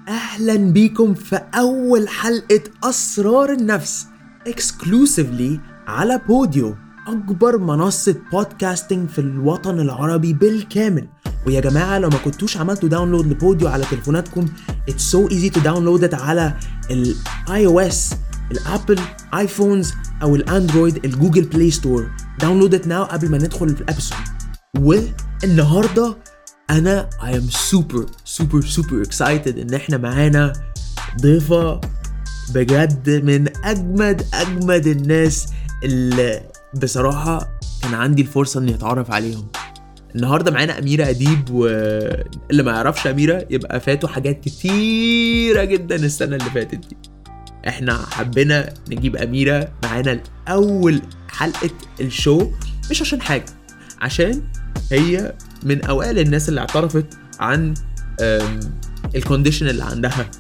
أهلا بيكم في أول حلقة أسرار النفس exclusively على بوديو، أكبر منصة بودكاستنج في الوطن العربي بالكامل. ويا جماعة لو ما كنتوش عملتوا داونلود لبوديو على تليفوناتكم it's so easy to download it على ال iOS، الأبل آيفونز أو الأندرويد، الجوجل بلاي ستور. download it now قبل ما ندخل في الأبسود. والنهاردة أنا I am super excited إن إحنا معانا ضيفة بجد من أجمد الناس اللي بصراحة كان عندي الفرصة إني أتعرف عليهم. النهاردة معانا أميرة أديب، واللي ما يعرفش أميرة يبقى فاتوا حاجات كتيرة جدا السنة اللي فاتت دي. إحنا حبينا نجيب أميرة معانا الأول حلقة الشو مش عشان حاجة، عشان هي من أوائل الناس اللي اعترفت عن الكونديشن اللي عندها.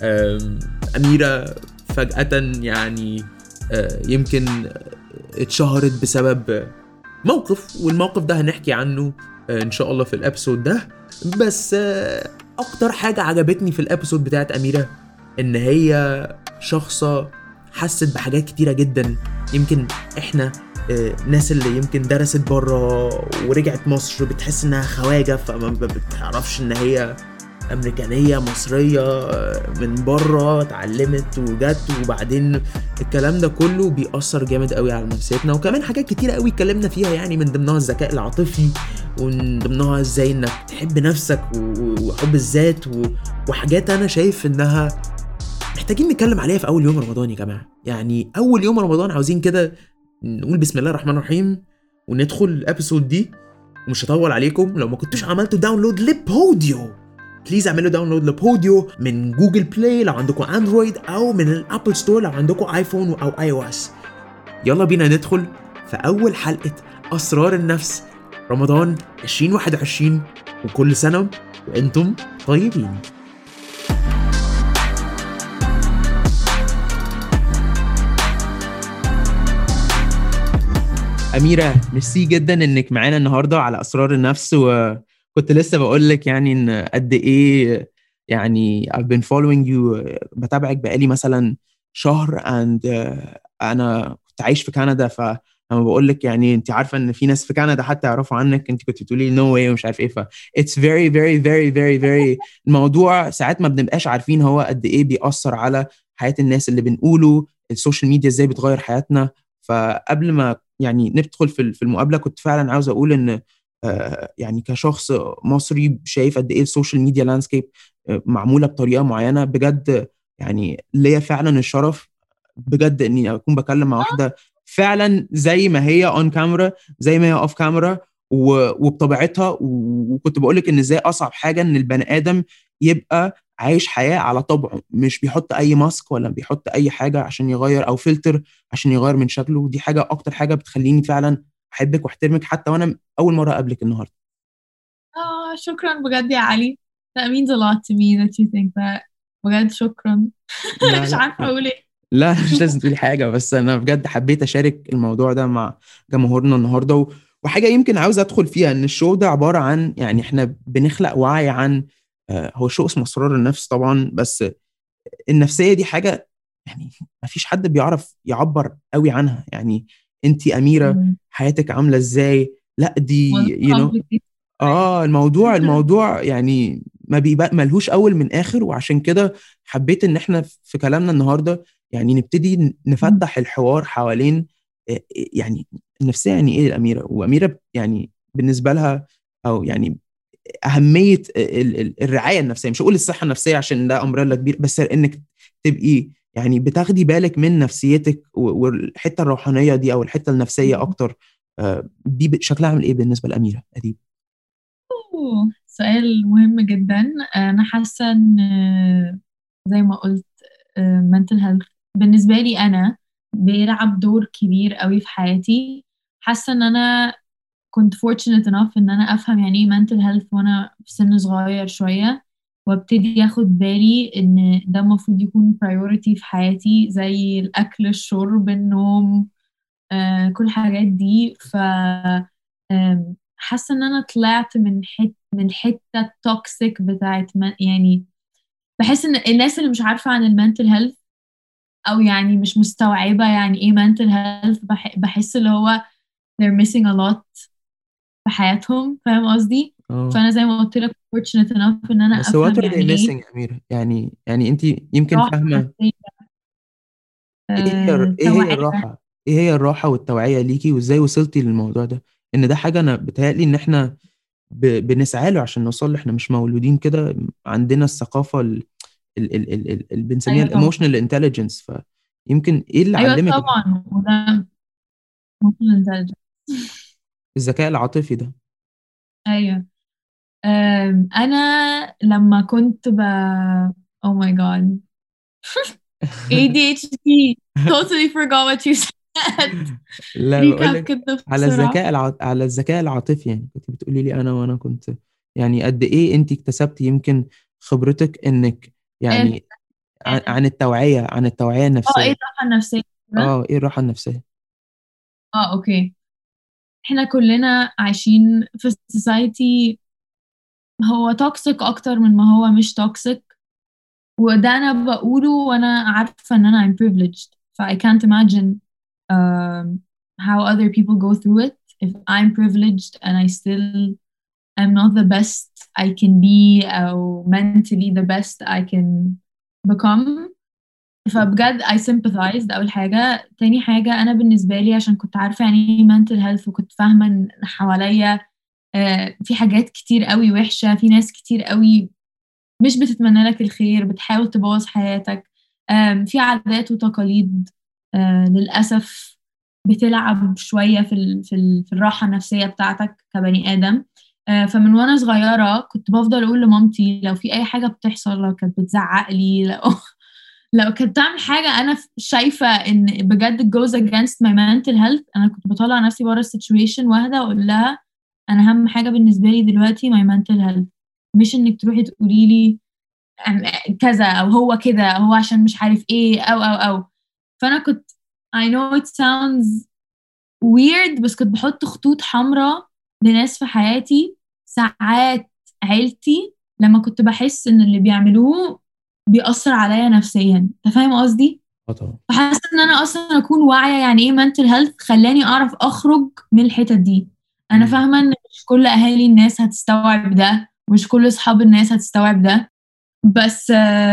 أميرة فجأة يعني يمكن اتشهرت بسبب موقف، والموقف ده هنحكي عنه إن شاء الله في الأبسود ده. بس أكتر حاجة عجبتني في الأبسود بتاعت أميرة إن هي شخصة حست بحاجات كتيرة جدا. يمكن إحنا ناس اللي يمكن درست برا ورجعت مصر بتحس انها خواجة، فما بتعرفش ان هي امريكانية مصرية من برا اتعلمت وجت، وبعدين الكلام ده كله بيأثر جامد قوي على نفسيتنا. وكمان حاجات كتيرة قوي اتكلمنا فيها، يعني من ضمنها الذكاء العاطفي، ومن ضمنها ازاي انك تحب نفسك وحب الذات، وحاجات انا شايف انها محتاجين نتكلم عليها في اول يوم رمضان يا جماعة. يعني اول يوم رمضان عاوزين كده نقول بسم الله الرحمن الرحيم وندخل الابيسود دي. ومش هطول عليكم، لو ما كنتوش عملتوا داونلود لبوديو بليز اعملوا داونلود لبوديو من جوجل بلاي لو عندكم اندرويد، او من الابل ستور لو عندكم ايفون او اي او اس. يلا بينا ندخل في اول حلقة اسرار النفس رمضان 2021، وكل سنة وانتم طيبين. أميرة ميرسي جدا إنك معانا النهاردة على أسرار النفس. وكنت لسه بقولك يعني إن قد إيه يعني I've been following you، بتابعك بقالي مثلا شهر and أنا كنت عايش في كندا، فلما بقولك يعني أنت عارفة إن في ناس في كندا حتى يعرفوا عنك، أنت كنت بتقولي no way ومش عارف إيه. it's very الموضوع ساعات ما بنبقاش عارفين هو قد إيه بيأثر على حياة الناس اللي بنقوله، السوشيال ميديا إزاي بتغير حياتنا. فقبل ما يعني ندخل في المقابلة كنت فعلا عاوز أقول إن يعني كشخص مصري شايف قد إيه السوشيال ميديا لاندسكيب معمولة بطريقة معينة بجد. يعني ليا فعلا الشرف بجد إني أكون بكلم مع واحدة فعلا زي ما هي on camera زي ما هي off camera وبطبيعتها. وكنت بقولك إن إزاي أصعب حاجة إن البني آدم يبقى عايش حياة على طبعه، مش بيحط أي ماسك ولا بيحط أي حاجة عشان يغير أو فلتر عشان يغير من شكله. دي حاجة أكتر حاجة بتخليني فعلا أحبك واحترمك حتى وأنا أول مرة أقابلك النهاردة. شكرا بجد يا علي. That means a lot to me that you think that. بجد شكرا. لا مش لا عارفة أقول إيه. لا مش لازم تقولي حاجة، بس أنا بجد حبيت أشارك الموضوع ده مع جمهورنا النهاردة. وحاجة يمكن عاوز أدخل فيها إن الشو ده عبارة عن يعني إحنا بنخلق وعي عن هو شو اسمه أسرار النفس طبعا، بس النفسية دي حاجة يعني ما فيش حد بيعرف يعبر قوي عنها. يعني انتي أميرة حياتك عاملة ازاي؟ لا دي complicated. الموضوع يعني ما بيبقى ملهوش اول من اخر. وعشان كده حبيت ان احنا في كلامنا النهاردة يعني نبتدي نفتح الحوار حوالين يعني النفسية يعني ايه الأميرة، وأميرة يعني بالنسبة لها او يعني أهمية الرعاية النفسية. مش هقول الصحة النفسية عشان ده أمريلا كبير، بس إنك تبقي يعني بتاخدي بالك من نفسيتك والحتة الروحانية دي أو الحتة النفسية أكتر. دي شكلها عامل إيه بالنسبة لأميرة أديب؟ سؤال مهم جدا. أنا حاسة إن زي ما قلت mental health بالنسبة لي أنا بيلعب دور كبير قوي في حياتي. حاسة إن أنا كنت fortunate enough إن أنا أفهم يعني إيه mental health وأنا في سن صغير شوية، وابتدي أخد بالي إن ده المفروض يكون priority في حياتي زي الأكل الشرب النوم، كل الحاجات دي. حاسة إن أنا طلعت من الحتة التوكسيك بتاعت يعني بحس ان الناس اللي مش عارفة عن المنتل هيلث او يعني مش مستوعبة يعني ايه mental health، بحس اللي هو they're missing a lot في حياتهم، فاهم قصدي؟ اه. فانا زي ما قلت لك fortunate enough ان انا بس what افهم are they يعني ايه missing يا أميرة؟ يعني انت يمكن راحة فاهمة نفسية، ايه هي توعية. الراحة، ايه هي الراحة والتوعية ليكي، وازاي وصلتي للموضوع ده؟ ان ده حاجة انا بتهيألي ان احنا بنسعى له عشان نوصل له. احنا مش مولودين كده، عندنا الثقافة اللي بنسميها ايوه طبعا. الايموشنال انتليجنس. فيمكن ايه اللي ايوه علمك طبعا، وده emotional intelligence. الذكاء العاطفي ده؟ ايوه. انا لما كنت oh my god ADHD totally forgot what you said. لا، بقول recap لك كده على بسرعة. على الذكاء العاطفي. يعني كنت بتقولي لي وانا كنت يعني قد ايه انت اكتسبتي يمكن خبرتك انك ايه يعني عن التوعية ايه النفسية. الراحة النفسية كده؟ اه، ايه الراحة النفسية؟ اوكي. احنا كلنا عايشين في society هو توكسيك اكتر من ما هو مش توكسيك، وده انا بقوله وانا عارفة ان انا I'm privileged. ف I can't imagine um, how other people go through it if I'm privileged and I still am not the best I can be أو mentally the best I can become. فبجد I sympathize، ده أول حاجة. تاني حاجة أنا بالنسبة لي عشان كنت عارفة يعني إيه mental health، وكنت فاهمة إن حواليا في حاجات كتير قوي وحشة، في ناس كتير قوي مش بتتمنى لك الخير، بتحاول تبوظ حياتك. في عادات وتقاليد للأسف بتلعب شوية في الراحة النفسية بتاعتك كبني آدم. فمن وأنا صغيرة كنت بفضل أقول لمامتي لو في أي حاجة بتحصل، لو كانت بتزعق لي، لو كانت تعمل حاجة أنا شايفة إن بجد it goes against my mental health، أنا كنت بطلع نفسي بره السيتويشن واهدى وأقول لها أنا أهم حاجة بالنسبة لي دلوقتي my mental health، مش إنك تروحي تقولي لي كذا أو هو كده أو هو عشان مش عارف إيه أو. فأنا كنت I know it sounds weird بس كنت بحط خطوط حمراء لناس في حياتي. ساعات عيلتي لما كنت بحس إن اللي بيعملوه بيأثر عليا نفسيا، أنت فاهم قصدي؟ اه طبعا. فحاسة إن أنا أصلا أكون واعية يعني إيه mental health خلاني أعرف أخرج من الحتة دي. أنا مم. فاهمة إن مش كل أهالي الناس هتستوعب ده، مش كل أصحاب الناس هتستوعب ده، بس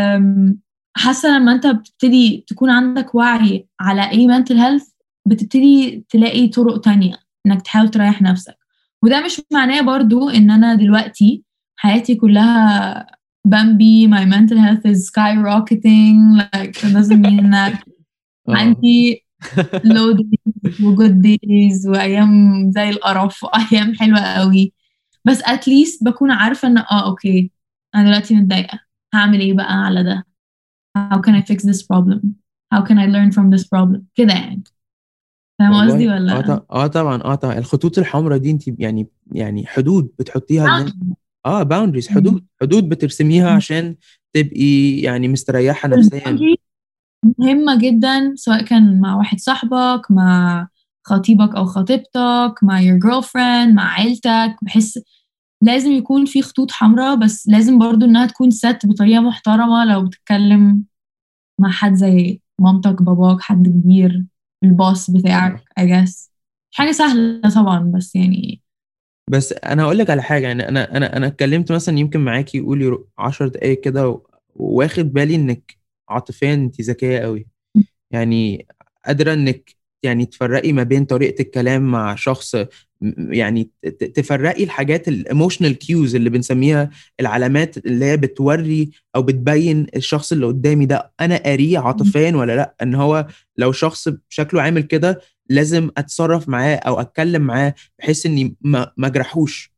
حاسة لما انت بتبتدي تكون عندك وعي على ايه mental health بتبتدي تلاقي طرق تانية انك تحاول تريح نفسك. وده مش معناه برضو ان انا دلوقتي حياتي كلها بامبي my mental health is skyrocketing like that doesn't mean ان اه. عندي low days و good days وايام زي القرف وايام حلوة قوي، بس at least بكون عارفة ان اوكي انا دلوقتي متضايقة، هعمل ايه بقى على ده؟ how can I fix this problem how can I learn from this problem كده يعني. فاهم قصدي والله ولا؟ طبعا، الخطوط الحمراء دي انت يعني حدود بتحطيها لنفسك. اه، باوندريز، حدود بترسميها عشان تبقي يعني مستريحة نفسيا. الباوندري مهمة جدا، سواء كان مع واحد صاحبك، مع خطيبك أو خطيبتك، مع your girlfriend، مع عيلتك. بحس لازم يكون في خطوط حمراء، بس لازم برضو إنها تكون ست بطريقة محترمة. لو بتتكلم مع حد زي مامتك، باباك، حد كبير، الباص بتاعك I guess مش حاجة سهلة طبعا، بس يعني. بس انا هقول لك على حاجة. يعني انا اتكلمت مثلا يمكن معاكي قولي 10 دقايق كده، واخد بالي انك عاطفيا انت ذكية قوي. يعني قادرة انك يعني تفرقي ما بين طريقة الكلام مع شخص، يعني تفرقي الحاجات الايموشنال كيوز اللي بنسميها، العلامات اللي هي بتوري او بتبين الشخص اللي قدامي ده انا قاريه عاطفيا ولا لا. ان هو لو شخص شكله عامل كده لازم اتصرف معاه او اتكلم معاه بحيث اني ما اجرحوش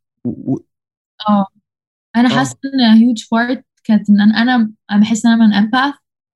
اه انا حاسه اه. ان هيوج بارت كانت ان أنا بحس ان انا من امباث.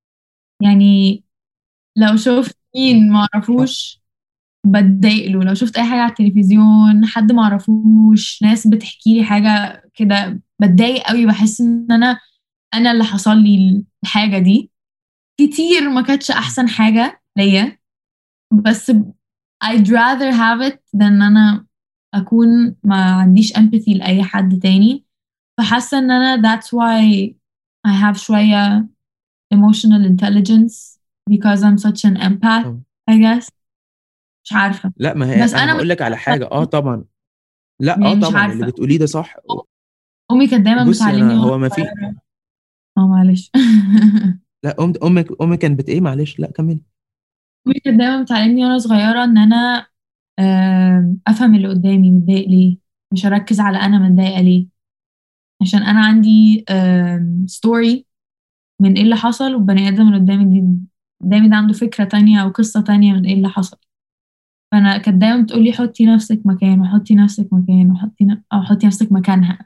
يعني لو شفت مين ما اعرفوش بتضايق له، لو شفت اي حاجه على التلفزيون حد ما اعرفوش، ناس بتحكي لي حاجه كده بتضايق قوي، بحس ان انا اللي حصل لي الحاجه دي. كتير ما كانتش احسن حاجه ليا، بس I'd rather have it than ان انا اكون ما عنديش empathy لاي حد تاني. فحاسه ان انا that's why I have شوية emotional intelligence because I'm such an empath I guess مش عارفة لا ما هي بس انا أنا هقول لك على حاجه، طبعا، لا يعني مش طبعا اللي عارفة بتقوليه ده صح. أمي كانت دايما بصي بتعلمني انا وأنا هو ما في، صغيرة معلش لا امك كانت ايه، معلش لا كملي. أمي كانت دايما بتعلمني وأنا صغيرة إن أنا أفهم اللي قدامي متضايق ليه مش أركز على أنا متضايقة ليه عشان أنا عندي ستوري من إيه اللي حصل والبني آدم اللي قدامي ده عنده فكرة تانية أو قصة تانية من إيه اللي حصل. فأنا كانت دايما بتقولي حطي نفسك مكانه وحطي نفسك مكانه أو حطي نفسك مكانها.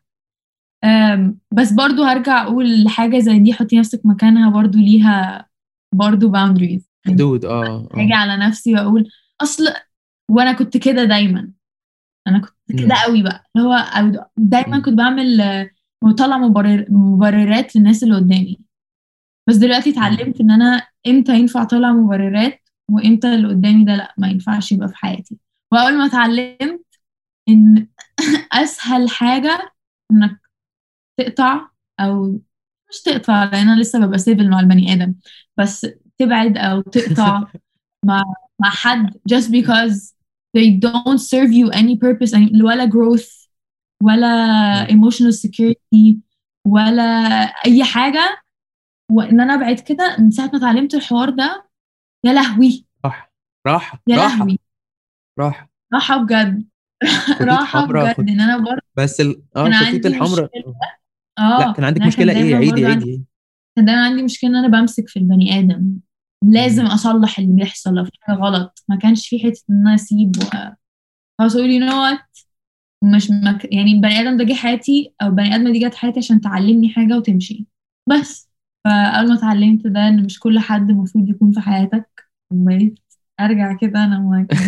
بس برضو هرجع أقول حاجة زي دي حطي نفسك مكانها برضو ليها برضو boundaries يعني حدود هاجي على نفسي وأقول أصل وأنا كنت كده دايما أنا كنت كده مم. قوي بقى اللي هو دايما مم. كنت بعمل بطلع مبررات للناس اللي قدامي. بس دلوقتي مم. اتعلمت ان انا امتى ينفع اطلع مبررات وامتى اللي قدامي ده لا ما ينفعش يبقى في حياتي. واول ما اتعلمت ان اسهل حاجة انك تقطع او مش تقطع لان انا لسه ببقى سيفل مع البني ادم بس تبعد او تقطع مع حد just because they don't serve you any purpose ولا growth ولا مم. emotional security ولا اي حاجة. وان انا ابعد كده من ساعة ما اتعلمت الحوار ده يا لهوي راحه راحه يا راحه لهوي راحه. راحة بجد خطوط راحة حمراء بجد ان انا برضه بس كان الخطوط عندي الحمراء. مشكلة لا كان عندك انا كان مشكله ايه؟ دايما عيدي برضه عيدي. كان دايما عندي مشكلة ان انا بمسك في البني ادم لازم مم. اصلح اللي بيحصل لو في حاجة غلط ما كانش في حتة ان انا اسيب خلاص اقول you know what مش يعني البني ادم ده جه حياتي او البني ادمة دي جت حياتي عشان تعلمني حاجة وتمشي بس. فاول ما اتعلمت ده ان مش كل حد المفروض يكون في حياتك وبقيت ارجع كده انا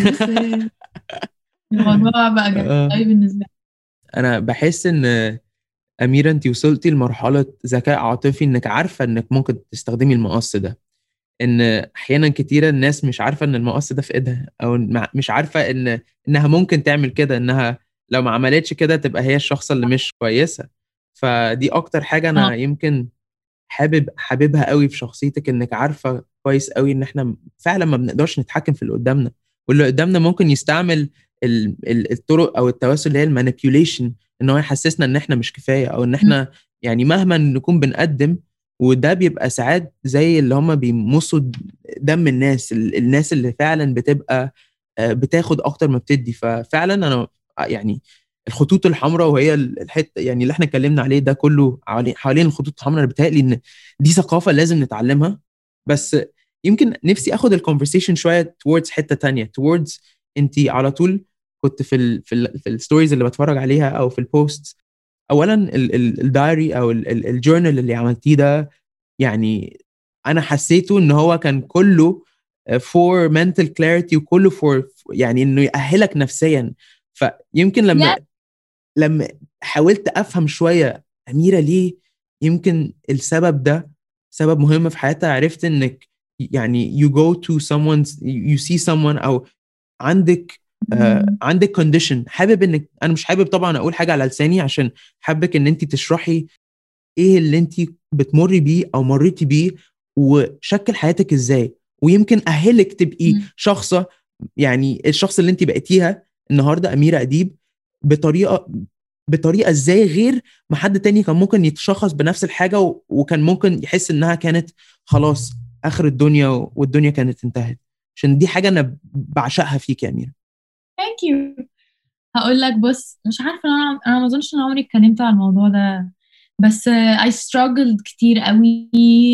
الموضوع بقى جميل آه. قوي بالنسبه انا بحس ان اميره انت وصلتي لمرحله ذكاء عاطفي انك عارفه انك ممكن تستخدمي المقص ده. ان احيانا كتيره الناس مش عارفه ان المقص ده في ايدها، او مش عارفه انها ممكن تعمل كده، انها لو ما عملتش كده تبقى هي الشخص اللي مش كويسه. فدي اكتر حاجه لي. انا يمكن حاببها قوي في شخصيتك، انك عارفه كويس قوي ان احنا فعلا ما بنقدرش نتحكم في اللي قدامنا، واللي قدامنا ممكن يستعمل الطرق او التواصل اللي هي المانيبيوليشن، ان هو يحسسنا ان احنا مش كفايه، او ان احنا يعني مهما نكون بنقدم. وده بيبقى ساعات زي اللي هم بيمصوا دم الناس، الناس اللي فعلا بتبقى بتاخد اكتر ما بتدي. ففعلا انا يعني الخطوط الحمراء، وهي الحته يعني اللي احنا اتكلمنا عليه ده كله حوالين الخطوط الحمراء، انا بيتهيألي ان دي ثقافه لازم نتعلمها. بس يمكن نفسي اخد الكونفرسيشن شويه towards حته تانية، towards انت على طول كنت في الستوريز اللي بتفرج عليها او في البوست. اولا الدايري او الجورنال اللي عملتيه ده، يعني انا حسيته ان هو كان كله for mental clarity، وكله for يعني انه يأهلك نفسيا. فيمكن يا لما حاولت افهم شويه اميره ليه، يمكن السبب ده سبب مهم في حياتها، عرفت انك يعني you go to someone you see someone، او عندك عندك كونديشن، حابب انك، انا مش حابب طبعا اقول حاجه على لساني، عشان حابك ان انت تشرحي ايه اللي انت بتمري بيه او مريتي بيه، وشكل حياتك ازاي، ويمكن اهلك تبقي شخصه، يعني الشخص اللي انت بقيتيها النهارده اميره اديب، بطريقه ازاي غير ما حد تاني كان ممكن يتشخص بنفس الحاجه، وكان ممكن يحس انها كانت خلاص اخر الدنيا، والدنيا كانت انتهت. عشان دي حاجه انا بعشقها فيك يا اميره. ثانك يو. هقول لك بص مش عارفه انا ما اظنش ان عمري اتكلمت على الموضوع ده بس I struggled كتير قوي.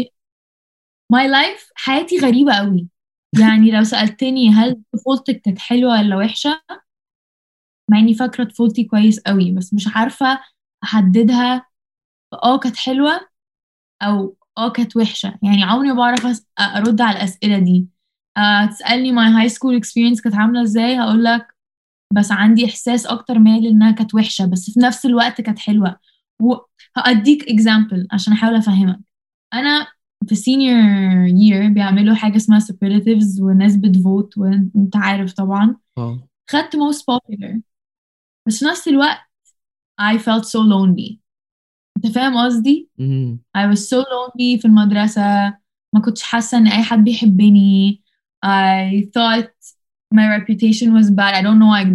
my life حياتي غريبه قوي يعني لو سألتني هل طفولتك كانت حلوه ولا وحشه مع اني فاكره طفولتي كويس قوي بس مش عارفه احددها كانت حلوه او كانت وحشه يعني عمري ما بعرف ارد على الاسئله دي. تسالني my high school experience كانت عامله ازاي هقول لك بس عندي احساس اكتر مايل انها كانت وحشه بس في نفس الوقت كانت حلوه. وهأديك example عشان احاول افهمك. انا في senior year بيعملوا حاجه اسمها superlatives والناس بتفوت وانت عارف طبعا اه خدت most popular بس في نفس الوقت I felt so lonely انت فاهم قصدي؟ مم. I was so lonely في المدرسة. ما كنتش حاسة ان اي حد بيحبني. I thought my reputation was bad. I don't know why.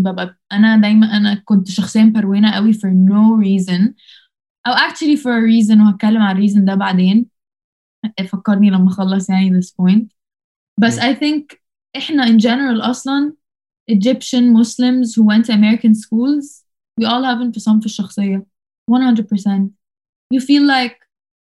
دايما كنت شخصيا مروينة قوي for no reason او actually for a reason، وهتكلم عن الريزن ده بعدين. فكرني لما اخلص يعني this point. بس I think احنا in general اصلا Egyptian Muslims who went to American schools, we all have انفصام في الشخصية 100%. You feel like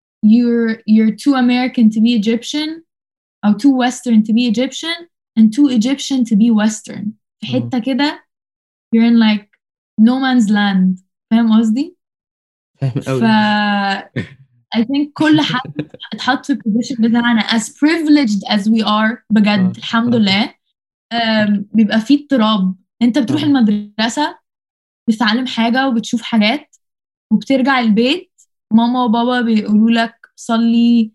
you're too American to be Egyptian أو too Western to be Egyptian and too Egyptian to be Western. في حتة كده you're in like no man's land. فاهم قصدي؟ فاهم ف قوي. I think كل حد اتحط في البوزيشن بتاعنا as privileged as we are بجد الحمد لله. بيبقى فيه اضطراب. انت بتروح المدرسة بتتعلم حاجة وبتشوف حاجات، وبترجع البيت ماما وبابا بيقولوا لك صلي،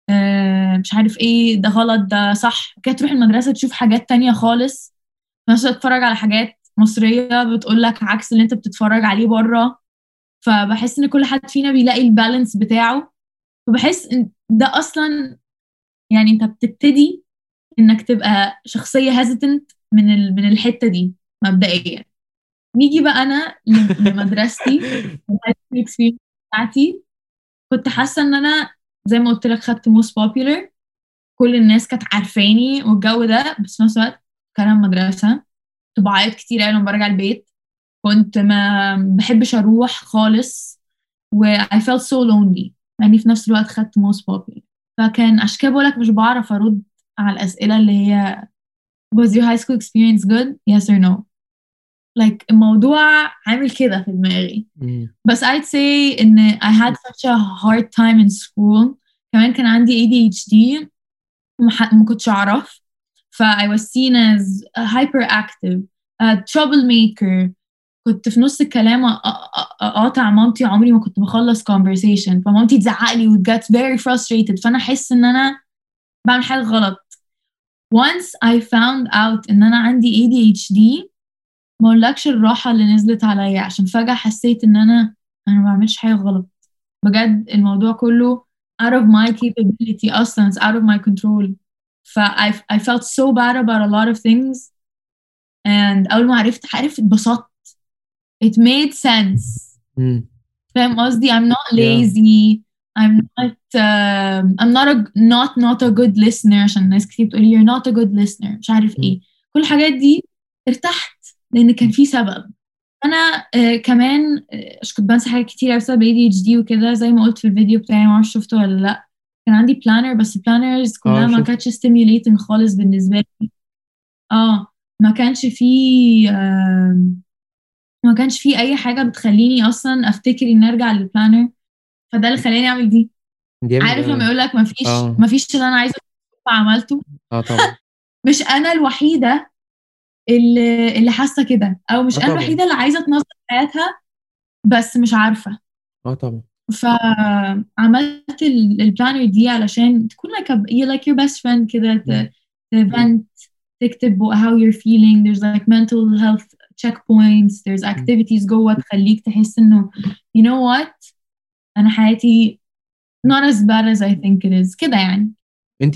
مش عارف ايه ده غلط ده صح كده. تروح المدرسة تشوف حاجات تانية خالص، ناس تتفرج على حاجات مصرية بتقول لك عكس اللي انت بتتفرج عليه بره. فبحس ان كل حد فينا بيلاقي البالانس بتاعه. فبحس ان ده اصلا يعني انت بتبتدي انك تبقى شخصية hesitant من الحتة دي مبدئيا. نيجي بقى انا لمدرستي الاكسبيرينس بتاعتي. كنت حاسة ان انا زي ما قلت لك خدت most popular، كل الناس كانت عارفاني والجو ده. بس في نفس الوقت كان مدرسة، كنت بعيط كتير قوي لما برجع البيت. كنت ما بحبش اروح خالص و I felt so lonely يعني في نفس الوقت خدت most popular. فكان عشان كده بقولك مش بعرف ارد على الاسئلة اللي هي was your high school experience good yes or no. like الموضوع عامل كده في دماغي. بس I'd say إن I had such a hard time in school. كمان كان عندي ADHD وما كنتش أعرف. I was seen as a hyperactive, a troublemaker. كنت في نص الكلام أقاطع مامتي، عمري ما كنت بخلص conversation، فمامتي تزعق لي و get very frustrated، فأنا أحس إن أنا بعمل حاجة غلط. Once I found out إن أنا عندي ADHD، ما اقولكش الراحة اللي نزلت عليا، عشان فجأة حسيت ان انا ما بعملش حاجة غلط. بجد الموضوع كله out of my capability اصلا. It's out of my control. I felt so bad about a lot of things. And أول ما عرفت اتبسطت. It made sense. فاهم قصدي؟ I'm not lazy. I'm not a good listener، عشان ناس كتير بتقولي you're not a good listener مش عارف ايه. كل الحاجات دي ارتحت لان كان في سبب. انا كمان كنت بنسى حاجات كتير بسبب ADHD وكده، زي ما قلت في الفيديو بتاعي، ما اعرفش شفته ولا لا. كان عندي بلانر بس البلانرز كلها ما كانتش stimulating خالص بالنسبه لي. ما كانش فيه ما كانش فيه اي حاجه بتخليني اصلا افتكر اني ارجع للبلانر. فده اللي خلاني اعمل دي. عارف لما يقول لك ما فيش اللي انا عايزه عملته. طبعا مش انا الوحيده اللي حاسه كده، او مش انا الوحيده اللي عايزه تنظم حياتها بس مش عارفه. طبعا. فعملت البلانر دي علشان تكون like your best friend كده، vent، تكتب how you're feeling. there's like mental health checkpoints, there's activities جوه تخليك تحس انه you know what انا حياتي not as bad as I think it is كده يعني. انت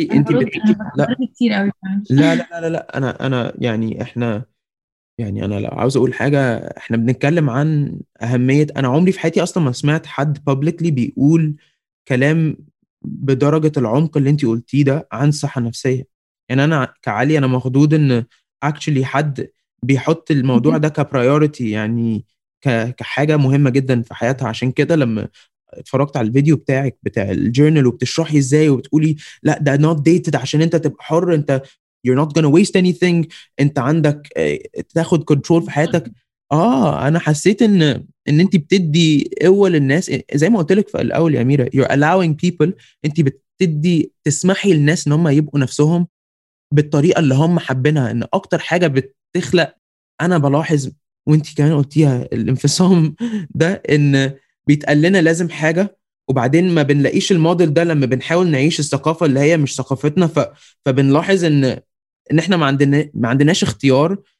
لا كتير قوي. لا انا يعني احنا يعني انا لو عاوز اقول حاجه، احنا بنتكلم عن اهميه. انا عمري في حياتي اصلا ما سمعت حد publicly بيقول كلام بدرجه العمق اللي انت قلتيه ده عن الصحه النفسيه. يعني انا كعلي انا مخضوض ان actually حد بيحط الموضوع ده كبرايورتي، يعني كحاجه مهمه جدا في حياتها. عشان كده لما اتفرجت على الفيديو بتاعك بتاع الجورنال وبتشرحي ازاي وبتقولي لا ده not dated عشان انت تبقى حر، انت you're not gonna waste anything، انت عندك تاخد كنترول في حياتك. انا حسيت ان انت بتدي قوه للناس. زي ما قلت لك في الاول يا اميره، you're allowing people، انت بتدي تسمحي للناس ان هم يبقوا نفسهم بالطريقه اللي هم حابينها. ان اكتر حاجه بتخلق، انا بلاحظ وانت كمان قلتيها، الانفصام ده، ان بيتقال لنا لازم حاجه وبعدين ما بنلاقيش الموديل ده لما بنحاول نعيش الثقافه اللي هي مش ثقافتنا. فبنلاحظ ان احنا ما عندناش اختيار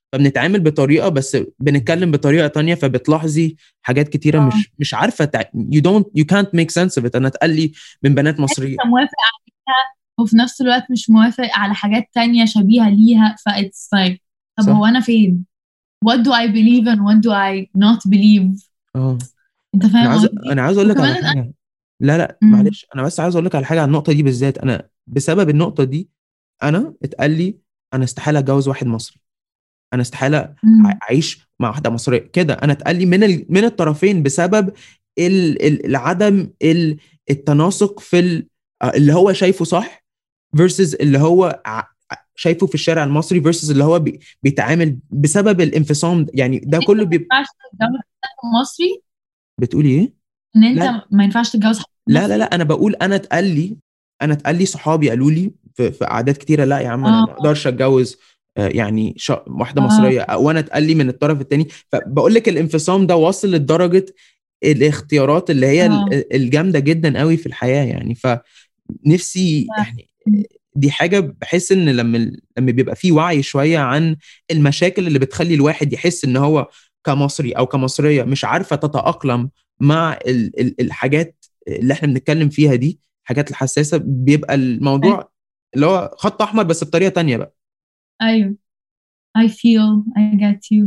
فبنتعامل بطريقه بس بنتكلم بطريقه تانية، فبتلاحظي حاجات كتيره مش عارفه you can't make sense of it. انا اتقال لي من بنات مصريه انت موافق عليها وفي نفس الوقت مش موافق على حاجات تانية شبيهة ليها، فايتس like طب صح. هو انا فين؟ what do I believe and what do I not believe؟ انت انا فاهم عايز قصدي؟ انا عايز اقول لك على وكمان حاجه. لا مم. معلش، انا بس عايز اقول لك على حاجه عن النقطه دي بالذات. انا بسبب النقطه دي انا اتقال لي انا استحاله اتجوز واحد مصري، انا استحاله مم. اعيش مع واحده مصريه كده. انا اتقال لي من الطرفين بسبب العدم التناسق في اللي هو شايفه صح versus اللي هو شايفه في الشارع المصري versus اللي هو بيتعامل بسبب الانفصام يعني ده كله ما ينفعش تتجوز حد مصري؟ بتقولي ايه؟ ان انت لا ما ينفعش تتجوز حد مصري؟ انا بقول انا اتقال لي صحابي قالوا لي في قعدات كتيره لا يا عم انا اه ما اقدرش اتجوز يعني واحده اه مصريه، وانا اتقال لي من الطرف التاني. فبقول لك الانفصام ده واصل لدرجه الاختيارات اللي هي اه الجامده جدا قوي في الحياه يعني. فنفسي يعني دي حاجه بحس ان لما بيبقى في وعي شويه عن المشاكل اللي بتخلي الواحد يحس ان هو كمصري او كمصريه مش عارفه تتاقلم مع الحاجات اللي احنا بنتكلم فيها دي، الحاجات الحساسه، بيبقى الموضوع اللي هو خط احمر بس بطريقه تانية بقى. ايوه I feel I get you.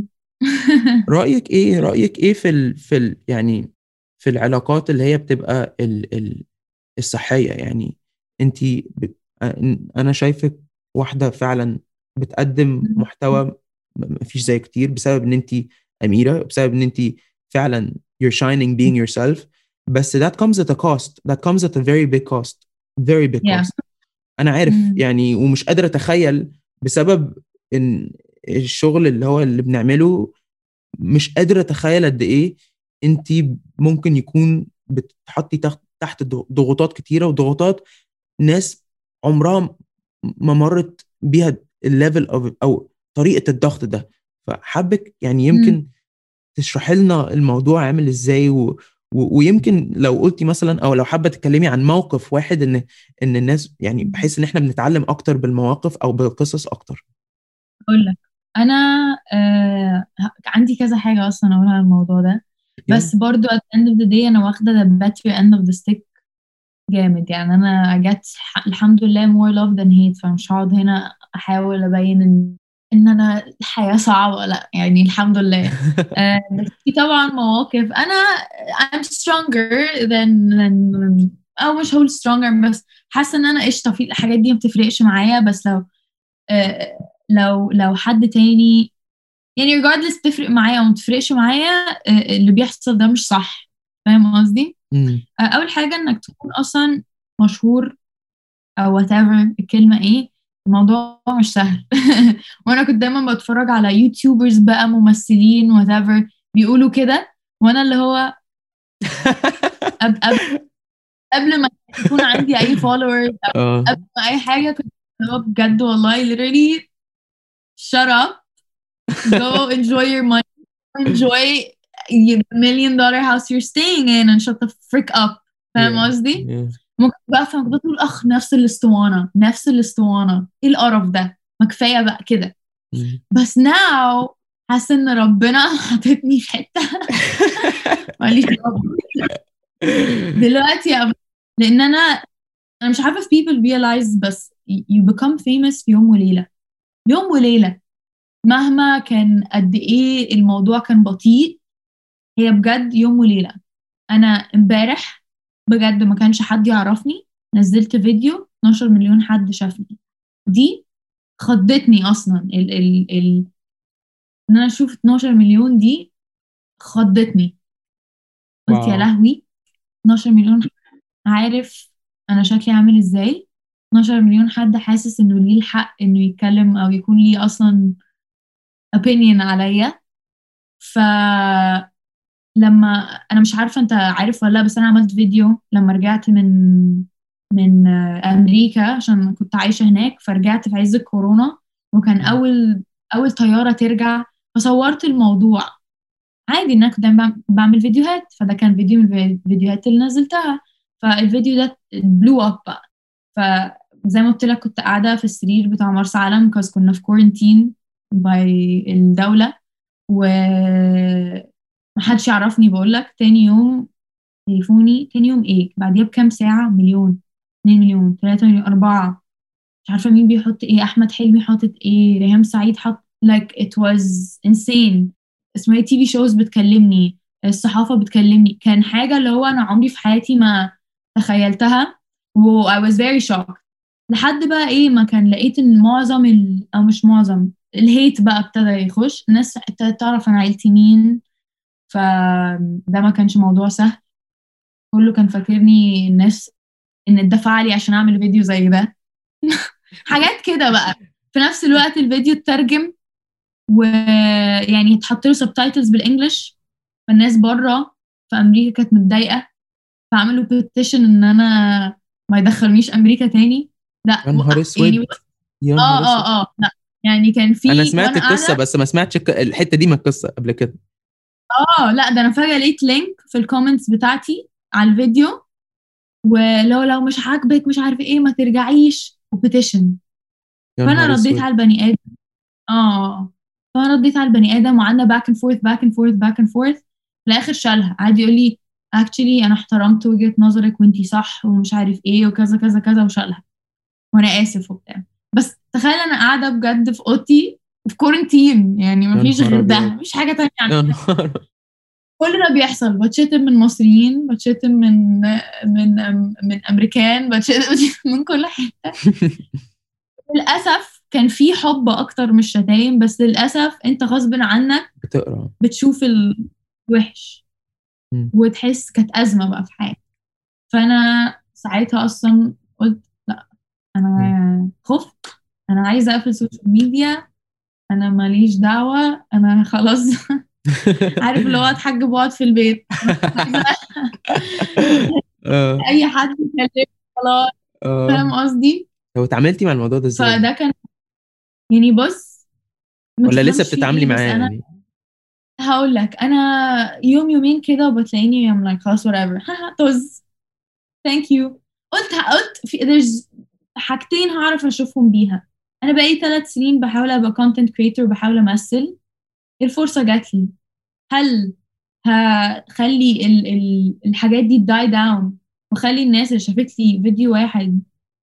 رايك ايه يعني في العلاقات اللي هي بتبقى الصحيه يعني؟ انت انا شايفك واحده فعلا بتقدم محتوى مفيش زي كتير بسبب ان انت اميره، بسبب ان انت فعلا you're shining being yourself. بس that comes at a cost, that comes at a very big cost, very big yeah. cost. انا عارف يعني ومش قادر اتخيل بسبب ان الشغل اللي هو اللي بنعمله، مش قادر اتخيل قد ايه انت ممكن يكون بتحطي تحت ضغوطات كتيره، وضغوطات ناس عمرها ما مرت بيها الليفل او طريقه الضغط ده. فحابك يعني يمكن تشرحي لنا الموضوع عامل ازاي ويمكن لو قلتي مثلا او لو حابه تتكلمي عن موقف واحد ان الناس يعني بحيث ان احنا بنتعلم اكتر بالمواقف او بالقصص اكتر. اقول لك انا عندي كذا حاجه اصلا اقولها على الموضوع ده، يلا. بس برضو at the end of the day انا واخده the better end of the stick جامد. يعني انا جت الحمد لله more love than hate، فمش هقعد هنا احاول ابين ان انا الحياه صعبه، لا يعني الحمد لله. بس في طبعا مواقف انا I'm stronger than او مش هقول stronger، بس حاسه ان انا قشطه في الحاجات دي ما بتفرقش معايا. بس لو حد تاني يعني regardless تفرق معايا او ما تفرقش معايا، اللي بيحصل ده مش صح. فاهم قصدي؟ اول حاجه انك تكون اصلا مشهور او whatever الكلمه ايه، الموضوع مش سهل. وانا كنت دايما بتفرج على يوتيوبرز بقى ممثلين whatever بيقولوا كده، وانا اللي هو قبل ما يكون عندي اي followers او قبل ما اي حاجه كنت اللي هو بجد والله literally shut up, go enjoy your money, enjoy the $1,000,000 house you're staying in and shut the frick up. فاهم قصدي؟ ممكن بقى فاهم تقول نفس الاسطوانة نفس الاسطوانة، ايه القرف ده، ما كفاية بقى كده. بس now حاسة ان ربنا حاططني في حتة ماليش دلوقتي لان انا مش عارفة if people realize، بس you become famous في يوم وليلة، يوم وليلة. مهما كان قد ايه الموضوع كان بطيء، هي بجد يوم وليلة. انا امبارح بجد ما كانش حد يعرفني، نزلت فيديو 12 مليون حد شافني. دي خضتني اصلا ان انا اشوف 12 مليون دي خضتني. قلت يا واو. لهوي، 12 مليون عارف انا شكلي عامل ازاي، 12 مليون حد حاسس انه ليه الحق انه يتكلم او يكون ليه اصلا opinion عليا. فلما انا مش عارفه انت عارف ولا لا، بس انا عملت فيديو لما رجعت من امريكا عشان كنت عايشه هناك، فرجعت في عز الكورونا وكان اول طياره ترجع، فصورت الموضوع عادي ان انا كنت دايما بعمل فيديوهات، فده كان فيديو من الفيديوهات اللي نزلتها. فالفيديو ده بلو اب بقى. فزي ما قلت لك كنت قاعده في السرير بتاع مرسى علم كاز كنا في كورنتين باي الدولة، ومحدش يعرفني. بقولك تاني يوم تليفوني، تاني يوم ايه بعديها بكام ساعة، 1,000,000، 2,000,000، 3,000,000، 4. مش عارفة مين بيحط ايه، أحمد حلمي حاطط ايه، ريهام سعيد حط like it was insane. اسمها تي في شوز بتكلمني، الصحافة بتكلمني، كان حاجة اللي هو أنا عمري في حياتي ما تخيلتها، و I was very shocked. لحد بقى ايه ما كان لقيت ان معظم او مش معظم الهيت بقى ابتدى يخش، الناس ابتدت تعرف انا عيلتي مين، فده ما كانش موضوع سهل. كله كان فاكرني الناس ان اتدفع لي عشان اعمل فيديو زي ده. حاجات كده بقى. في نفس الوقت الفيديو اترجم، ويعني اتحط له سبتايتلز بالانجلش، فالناس بره في امريكا كانت متضايقه، فعملوا بيتيشن ان انا ما يدخلونيش امريكا تاني. لا يا نهار يعني اسود، يا نهار اسود. لا يعني كان انا في سمعت وانا القصه قاعده. بس ما سمعتش الحته دي من القصه قبل كده. لا ده انا فجاه لقيت لينك في الكومنتس بتاعتي على الفيديو، ولو مش عاجبك مش عارف ايه ما ترجعيش، وبيتيشن. يا فانا نهار رديت اسود. على البني ادم. فانا رديت على البني ادم، وقعدنا باك اند فورث باك اند فورث باك اند فورث. في الاخر شالها، قعد يقول لي actually انا احترمت وجهة نظرك وانتي صح ومش عارف ايه وكذا كذا كذا، وشالها وانا اسف وبتاع. بس تخيل انا قاعده بجد في اوضتي وفي كورنتين، يعني يا مفيش نهار غير ده، ابيض. مفيش حاجه تانية يا اعملها. نهار. كل ده بيحصل، بتشتم من مصريين، بتشتم من امريكان، بتشتم من كل حته. للاسف كان في حب اكتر من الشتايم، بس للاسف انت غصب عنك بتقرا. بتشوف الوحش، مم. وتحس كانت ازمه بقى في حياتي. فانا ساعتها اصلا قلت لا، مم. انا خفت، انا عايزه اقفل السوشيال ميديا، انا ماليش دعوه، انا خلاص. عارف اللي هو اتحجب واقعد في البيت، عايزه اه. اي حد يكلمني خلاص. اه. فاهم قصدي؟ لو اتعاملتي مع الموضوع ده ازاي؟ فده كان يعني بص، ما ولا لسه تفهمش فيه بتتعاملي ايه، بس معاه انا يعني؟ هقول لك، انا يوم يومين كده وبتلاقيني I'm like خلاص whatever. طز. ثانك يو. قلت في there's حاجتين هعرف اشوفهم بيها. انا بقالي 3 سنين بحاول ابقى content creator وبحاول امثل، الفرصة جات لي. هل هخلي الحاجات دي die down، وخلي الناس اللي شافت لي فيديو واحد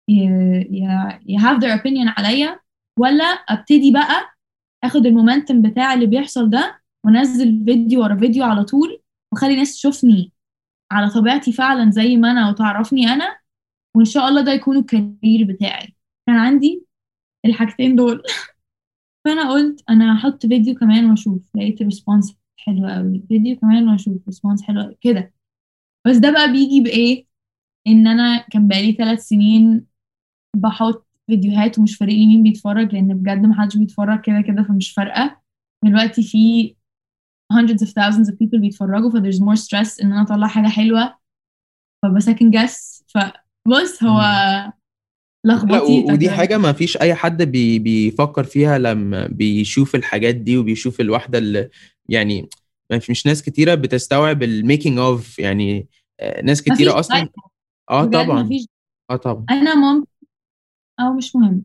have their opinion عليا، ولا ابتدي بقى اخد المومنتم بتاع اللي بيحصل ده وانزل فيديو ورا فيديو على طول، وخلي الناس تشوفني على طبيعتي فعلا زي ما انا وتعرفني انا، وان شاء الله ده يكون الكارير بتاعي. كان عندي الحاجتين دول. فانا قلت انا هحط فيديو كمان واشوف، لقيت ريسبونس حلو قوي، فيديو كمان واشوف ريسبونس حلو قوي كده. بس ده بقى بيجي بايه، ان انا كان بقالي 3 سنين بحط فيديوهات ومش فارق لي مين بيتفرج، لان بجد محدش بيتفرج كده كده، فمش فارقه. دلوقتي في hundreds of thousands of people بيتفرجوا، ف there's more stress ان انا اطلع حاجه حلوه، فبسكن جس. فبص هو مم. لا، لخبطيطه ودي كده. حاجة ما فيش أي حد بيفكر فيها لما بيشوف الحاجات دي وبيشوف الواحدة اللي يعني مش ناس كتيرة بتستوعب الميكينج اوف يعني. ناس مفيش كتيرة أصلا. دايت، اه بجد طبعا. مفيش. اه طبعا. انا ممكن، او مش مهم.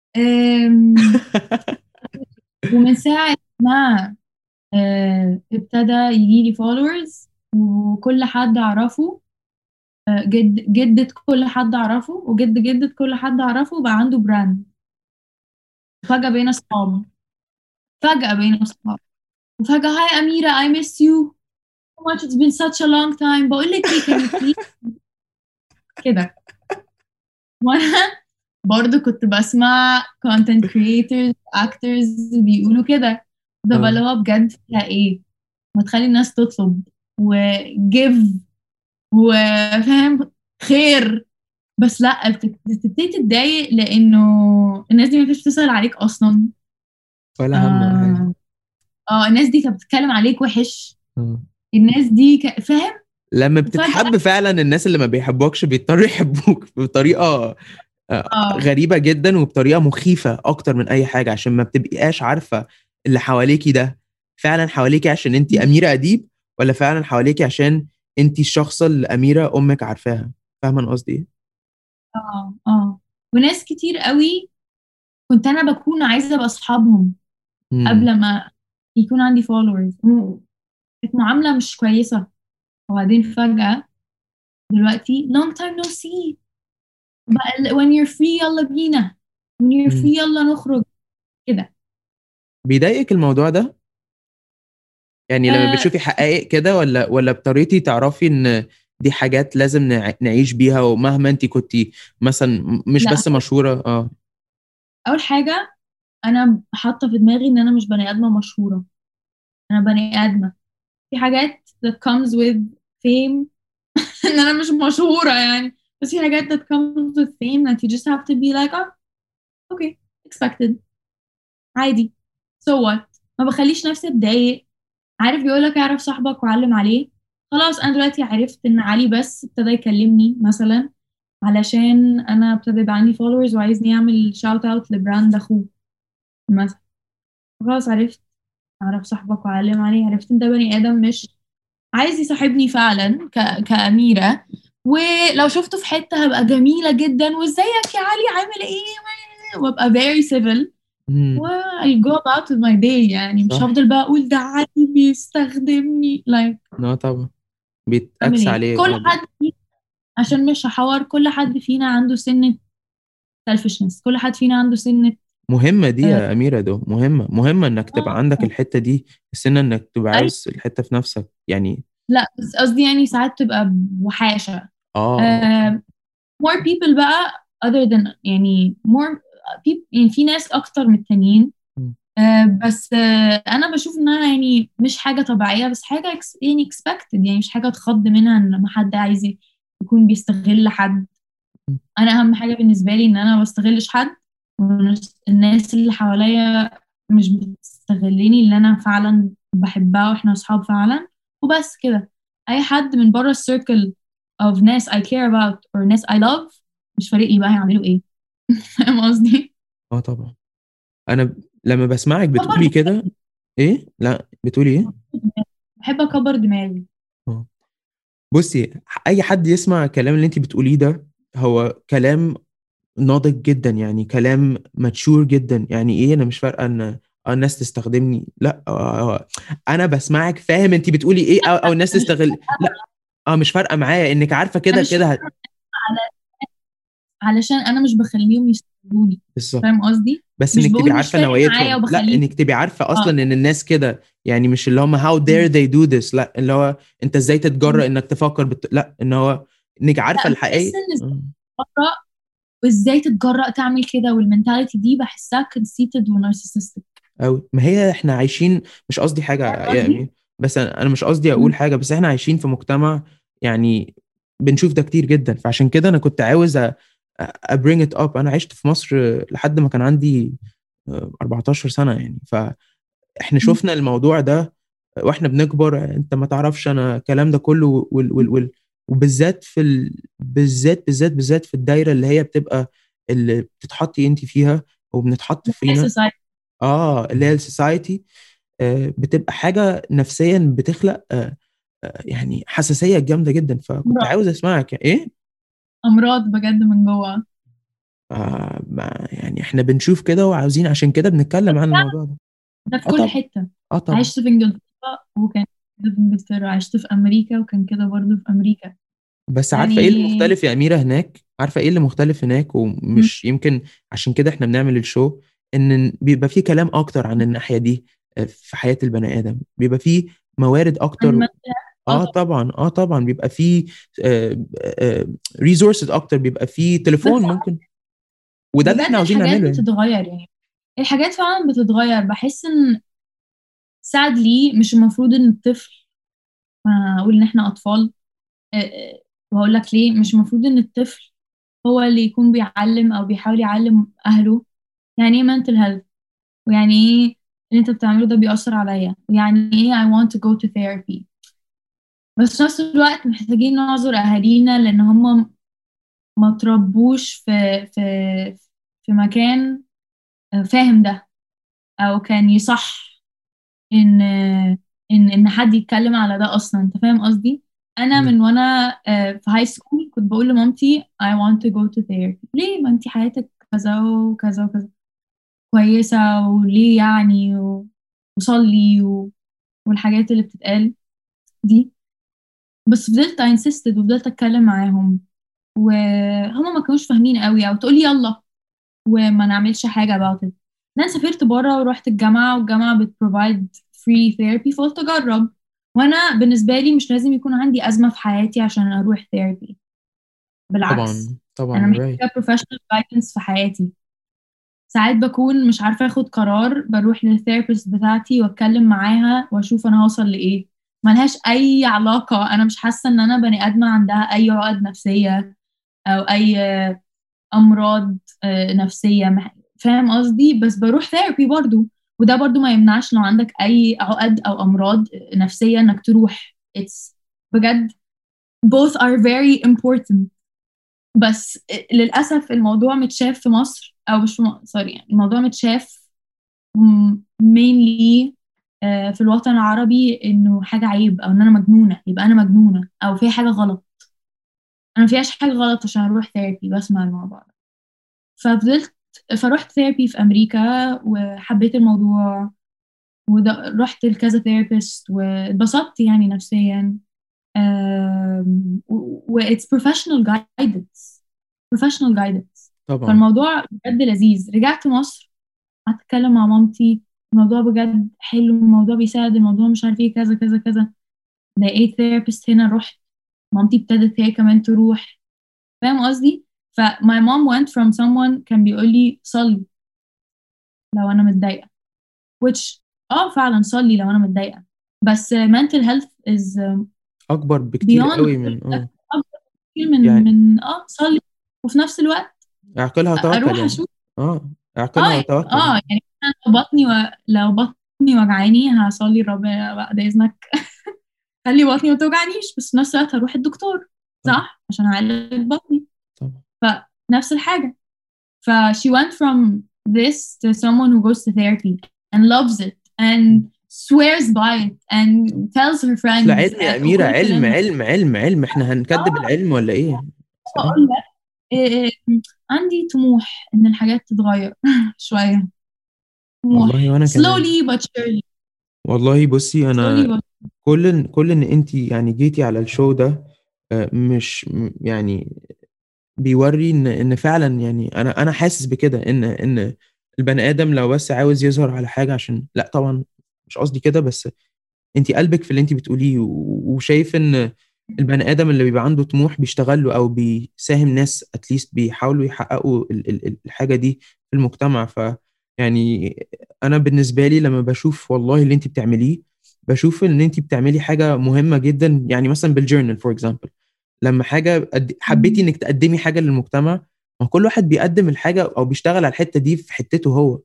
أم، ومن ساعة ما ابتدى يجيلي followers، وكل حد أعرفه، جدة كل حد أعرفه وجد جدة كل حد أعرفه بقى عنده براند. فجأة بقينا أصحاب، فجأة بقينا أصحاب، وفجأة هاي أميرة I miss you so much, it's been such a long time، بقول لك إيه can you please كده. وأنا برضو كنت بسمع content creators actors بيقولوا كده، ده بقى اللي اه. هو بجد فيها إيه، ما تخلي الناس تطلب وجيف وفاهم خير. بس لا بتبتدي تتضايق لانه الناس دي ما كانتش بتسأل عليك اصلا. ولا هم ولا حاجة. اه, الناس دي كانت بتتكلم عليك وحش، آه. الناس دي فاهم. لما وفجأة بتتحب فعلا الناس اللي ما بيحبوكش بيضطروا يحبوك بطريقة اه غريبة جدا وبطريقة مخيفة أكتر من أي حاجة، عشان ما بتبقاش عارفة اللي حواليكي ده فعلا حواليكي عشان أنتي أميرة أديب، ولا فعلا حواليكي عشان أنتي الشخصة اللي أميرة أمك عارفاها. فاهمة أنا قصدي إيه؟ اه وناس كتير قوي كنت انا بكون عايزة ابقى اصحابهم، قبل ما يكون عندي followers. كانت معاملة مش كويسة، وبعدين فجأة دلوقتي long time no see بقى when you're free يلا بينا، when you're مم. free يلا نخرج كده. بيضايقك الموضوع ده؟ يعني لما آه بتشوفي حقائق كده، ولا بطريقتي تعرفي ان دي حاجات لازم نعيش بيها، ومهما انت كنتي مثلا مش لا، بس مشهورة أول حاجة أنا حاطة في دماغي إن أنا مش بني آدمة مشهورة، أنا بني آدمة. في حاجات that comes with fame إن أنا مش مشهورة يعني، بس في حاجات that comes with fame that you just have to be like okay expected عادي. so what، ما بخليش نفسي اتضايق. عارف بيقولك اعرف صاحبك وعلم عليه. خلاص انا دلوقتي عرفت ان علي بس ابتدى يكلمني مثلا علشان انا ابتدى يبقى عندي followers وعايزني اعمل shout out لبراند اخوه مثلا. خلاص عرفت، اعرف صاحبك وعلم عليه، عرفت ان ده بني ادم مش عايز يصاحبني فعلا كأميرة. ولو شفته في حتة هبقى جميلة جدا، وازيك يا علي عامل ايه، وابقى very civil امم. و I'll go about with my day. يعني مش صح. هفضل بقى اقول ده علي بيستخدمني like لا طبعا، اعمل بيتأكس ايه. عليه كل حد فينا، عشان مش هحور، كل حد فينا عنده سنة selfishness، كل حد فينا عنده سنة مهمة دي آه يا أميرة، ده مهمة إنك تبقى عندك آه، الحتة دي، السنة إنك تبقى أي عاوز الحتة في نفسك يعني. لا بس قصدي يعني ساعات تبقى بوحاشة. أوكي. آه more people بقى other than يعني more people، يعني في ناس أكتر من التانيين. مم. بس أنا بشوف إنها يعني مش حاجة طبيعية، بس حاجة يعني expected، يعني مش حاجة تخض منها إن لما حد عايز يكون بيستغل حد. أنا أهم حاجة بالنسبة لي إن أنا ما بستغلش حد، والناس اللي حواليا مش بتستغلني، اللي أنا فعلا بحبها وإحنا أصحاب فعلا، وبس كده. أي حد من بره السيركل of ناس I care about or ناس I love مش فارق لي بقى هيعملوا إيه. فاهم قصدي؟ طبعا. لما بسمعك كبر بتقولي كده. إيه؟ لا بتقولي إيه؟ دماغي، بحب أكبر دماغي. آه. بصي، أي حد يسمع الكلام اللي أنت بتقوليه ده، هو كلام ناضج جدا، يعني كلام ماتشور جدا. يعني ايه انا مش فارقه ان الناس تستخدمني، لا انا بسمعك فاهم انت بتقولي ايه، او الناس مش تستغل، لا مش فارقه معايا انك عارفه كده أنا مش كده فاهمة على علشان أنا مش بخليهم يستغلوني. بالظبط. فاهم قصدي؟ بس مش انك تبقي بقول مش عارفه فارق معايا نواياهم، لا وبخليهم. انك تبقي عارفه اه اصلا ان الناس كده، يعني مش اللي هم how dare they do this، لا اللي هو انت ازاي تتجرأ انك تفكر لا ان هو انك عارفه لا بحس الحقيقه. ان ازاي تتجرأ، وازاي تتجرأ تعمل كده، والمنتاليتي دي بحسها conceited ونارسيسستك. أوي، ما هي احنا عايشين، مش قصدي حاجة فاهم قصدي؟ يعني، بس أنا مش قصدي أقول مم. حاجة، بس احنا عايشين في مجتمع يعني بنشوف ده كتير جدا. فعشان كده أنا كنت عاوز bring it up. أنا عشت في مصر لحد ما كان عندي 14 سنة يعني، فاحنا مم. شفنا الموضوع ده واحنا بنكبر. انت ما تعرفش انا الكلام ده كله وبالذات بالذات في الدايرة اللي هي بتبقى اللي بتتحطي انت فيها وبنتحط فينا. society. اللي هي السوسايتي، بتبقى حاجة نفسيا بتخلق يعني حساسية جامدة جدا. فكنت أمراض، عاوز اسمعك ايه. أمراض بجد من جوه. يعني احنا بنشوف كده وعاوزين، عشان كده بنتكلم عن الموضوع ده. ده في اه كل طبعا. حتة. اه طبعا. عشت في إنجلترا وكان كده في إنجلترا، عشت في أمريكا وكان كده برضه في أمريكا. بس عارفة ايه اللي يعني مختلف يا أميرة هناك؟ عارفة ايه اللي مختلف هناك، مم. ومش يمكن عشان كده احنا بنعمل الشو، ان بيبقى فيه كلام اكتر عن الناحية دي في حياة البني آدم، بيبقى فيه موارد عن اكتر. مثلا اه طبعا، بيبقى فيه ريسورسز اكتر، بيبقى فيه بس تليفون ممكن، وده اللي احنا بجد عاوزين الحاجات نعمله يعني. بتتغير يعني، الحاجات فعلا بتتغير. بحس إن sadly مش المفروض إن الطفل، أقول إن إحنا أطفال، وهقول لك ليه. مش المفروض ان الطفل هو اللي يكون بيعلم او بيحاول يعلم اهله يعني ايه mental health، ويعني ايه اللي انت بتعمله ده بيأثر عليا، ويعني ايه I want to go to therapy. بس في نفس الوقت محتاجين نعذر اهالينا لان هم ما تربوش في في مكان فاهم ده، او كان يصح ان ان حد يتكلم على ده اصلا. انت فاهم قصدي؟ انا مم. من وانا في هاي سكول كنت بقول لمامتي I want to go to therapy. ليه؟ ما انتي حياتك كذا وكذا وكذا. كويسة وليه يعني وصلي والحاجات اللي بتتقال دي. بس فضلت انسستد وفضلت اتكلم معاهم، وهما ما كانوش فاهمين قوي، او تقولي يلا وما نعملش حاجة about it. انا سافرت بره ورحت الجامعة، والجامعة بتبروفايد free therapy، فقلت اجرب. وانا بالنسبة لي مش لازم يكون عندي أزمة في حياتي عشان اروح therapy، بالعكس طبعا طبعا انا right. محتاجة professional guidance في حياتي. ساعات بكون مش عارفة اخد قرار، بروح للثيرابيست بتاعتي واتكلم معاها واشوف انا هوصل لايه. ملهاش اي علاقة، انا مش حاسة ان انا بني ادمة عندها اي عقد نفسية او اي امراض نفسية، فاهم قصدي؟ بس بروح ثيرابي برضو، وده برضو ما يمنعش لو عندك اي عقد او امراض نفسية انك تروح. it's بجد both are very important. بس للأسف الموضوع متشاف في مصر، أو مش في سوري، يعني الموضوع متشاف mainly في الوطن العربي إنه حاجة عيب، أو إن أنا مجنونة، يبقى أنا مجنونة أو في حاجة غلط. أنا مفيهاش حاجة غلط عشان أروح ثيرابي بسمع الموضوع. ففضلت فروحت ثيرابي في أمريكا وحبيت الموضوع، ورحت لكذا ثيرابيست واتبسطت يعني نفسيا. و it's professional guidance، professional guidance. طبعا فالموضوع بجد لذيذ. رجعت مصر، قعدت اتكلم مع مامتي، الموضوع بجد حلو، الموضوع بيساعد، الموضوع مش عارف ايه كذا كذا كذا. لقيت ثيرابيست هنا، رحت مامتي ابتدت هي كمان تروح، فاهم قصدي؟ ف my mom went from someone كان بيقول لي صلي لو انا متضايقه، which فعلا صلي لو انا متضايقه، بس mental health is اكبر بكتير beyond قوي من أكبر كتير من يعني صلي، وفي نفس الوقت اعقلها وتوكل اروح يعني. اشوف. اعقلها وتوكل يعني. يعني أنا لو بطني وجعاني هصلي ربنا بعد اذنك خلي بطني ما توجعنيش، بس في نفس الوقت هروح الدكتور، طبعا صح، عشان اعالج بطني. طبعا فنفس الحاجه. ف she went from this to someone who goes to therapy and loves it and swears by it and tells her اصل friends علم يا اميره، وكل علم الكلام ده. علم علم علم، احنا هنكذب العلم ولا ايه؟ أصل اقول لك إيه، عندي طموح ان الحاجات تتغير شويه، والله طموح وانا كمان. slowly but surely. والله بصي slowly انا but كل ان انت يعني جيتي على الشو ده مش يعني بيوري ان فعلا يعني انا حاسس بكده ان البني ادم لو بس عاوز يظهر على حاجه عشان، لا طبعا مش قصدي كده، بس انت قلبك في اللي انت بتقوليه وشايف ان البني ادم اللي بيبقى عنده طموح بيشتغل له او بيساهم ناس اتليست بيحاولوا يحققوا الحاجه دي في المجتمع. ف يعني انا بالنسبه لي لما بشوف والله اللي انت بتعمليه، بشوف ان انت بتعملي حاجه مهمه جدا. يعني مثلا بالجورنال فور اكزامبل، لما حاجه حبيتي انك تقدمي حاجه للمجتمع، ما كل واحد بيقدم الحاجه او بيشتغل على الحته دي في حتته هو.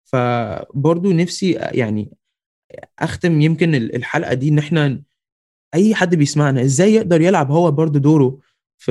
فبرضو نفسي يعني اختم يمكن الحلقه دي ان احنا اي حد بيسمعنا ازاي يقدر يلعب هو برضو دوره في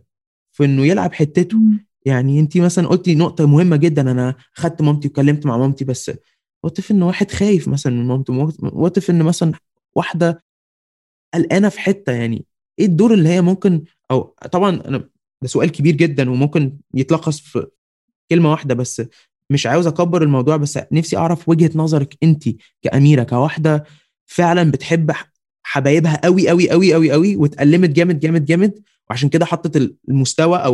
انه يلعب حتته. يعني انت مثلا قلتي نقطه مهمه جدا، انا خدت مامتي وكلمت مع مامتي، بس وات ان واحد خايف مثلا من مامته، وات ان مثلا واحده قلقانه في حته، يعني ايه الدور اللي هي ممكن، او طبعا انا ده سؤال كبير جدا وممكن يتلخص في كلمه واحده بس، مش عاوز اكبر الموضوع، بس نفسي اعرف وجهه نظرك انت كأميرة، كواحده فعلا بتحب حبايبها قوي قوي قوي قوي قوي واتألمت جامد جامد جامد، وعشان كده حطت المستوى او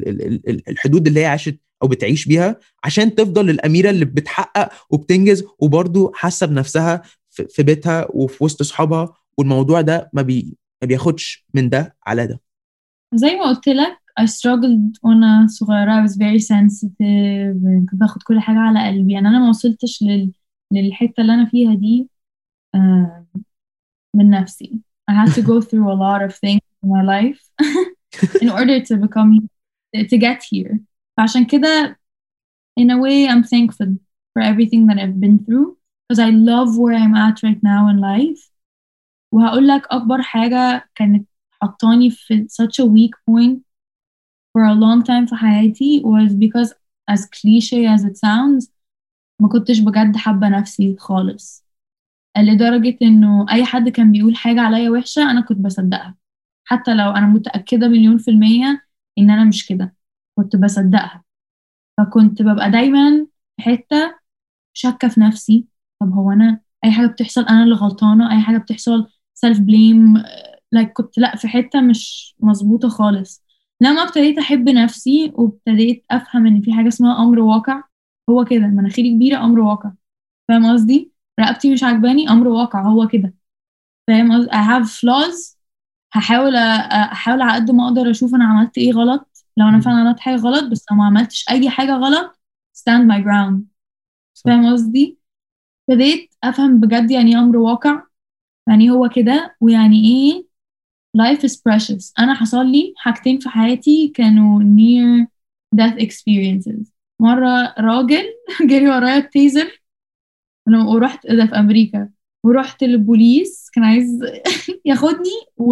الحدود اللي هي عاشت او بتعيش بيها عشان تفضل الأميرة اللي بتحقق وبتنجز وبرضه حاسه بنفسها في بيتها وفي وسط اصحابها، والموضوع ده ما بياخدش من ده على ده. زي ما قلت لك I struggled وأنا صغيرة. I was very sensitive، كنت باخد كل حاجة على قلبي. يعني أنا ما وصلتش للحتة اللي أنا فيها دي آه، من نفسي. I had to go through a lot of things in my life in order to get here. فعشان كده in a way I'm thankful for everything that I've been through because I love where I'm at right now in life. وهقول لك أكبر حاجة كانت حطاني في such a weak point for a long time في حياتي was because as cliche as it sounds ما كنتش بجد حابة نفسي خالص، لدرجة إنه أي حد كان بيقول حاجة عليا وحشة أنا كنت بصدقها، حتى لو أنا متأكدة 1,000,000% إن أنا مش كده كنت بصدقها. فكنت ببقى دايما في حتة شاكة في نفسي. طب هو أنا أي حاجة بتحصل أنا اللي غلطانة، أي حاجة بتحصل self blame. كنت لأ في حتة مش مظبوطة خالص. لما ابتديت أحب نفسي وابتديت أفهم إن في حاجة اسمها أمر واقع، هو كده مناخيري كبيرة أمر واقع، فاهم قصدي؟ رقبتي مش عجباني أمر واقع، هو كده، فاهم قصدي؟ I have flaws. أحاول على قد ما أقدر أشوف أنا عملت إيه غلط، لو أنا فعلا عملت حاجة غلط، بس لو ما عملتش أي حاجة غلط stand my ground. صح. فاهم قصدي؟ ابتديت أفهم بجد يعني إيه أمر واقع، يعني هو كده، ويعني إيه life is precious. أنا حصل لي حاجتين في حياتي كانوا near death experiences. مرة راجل جري ورايا التيزر ورحت ده في أمريكا، ورحت للبوليس كان عايز ياخدني،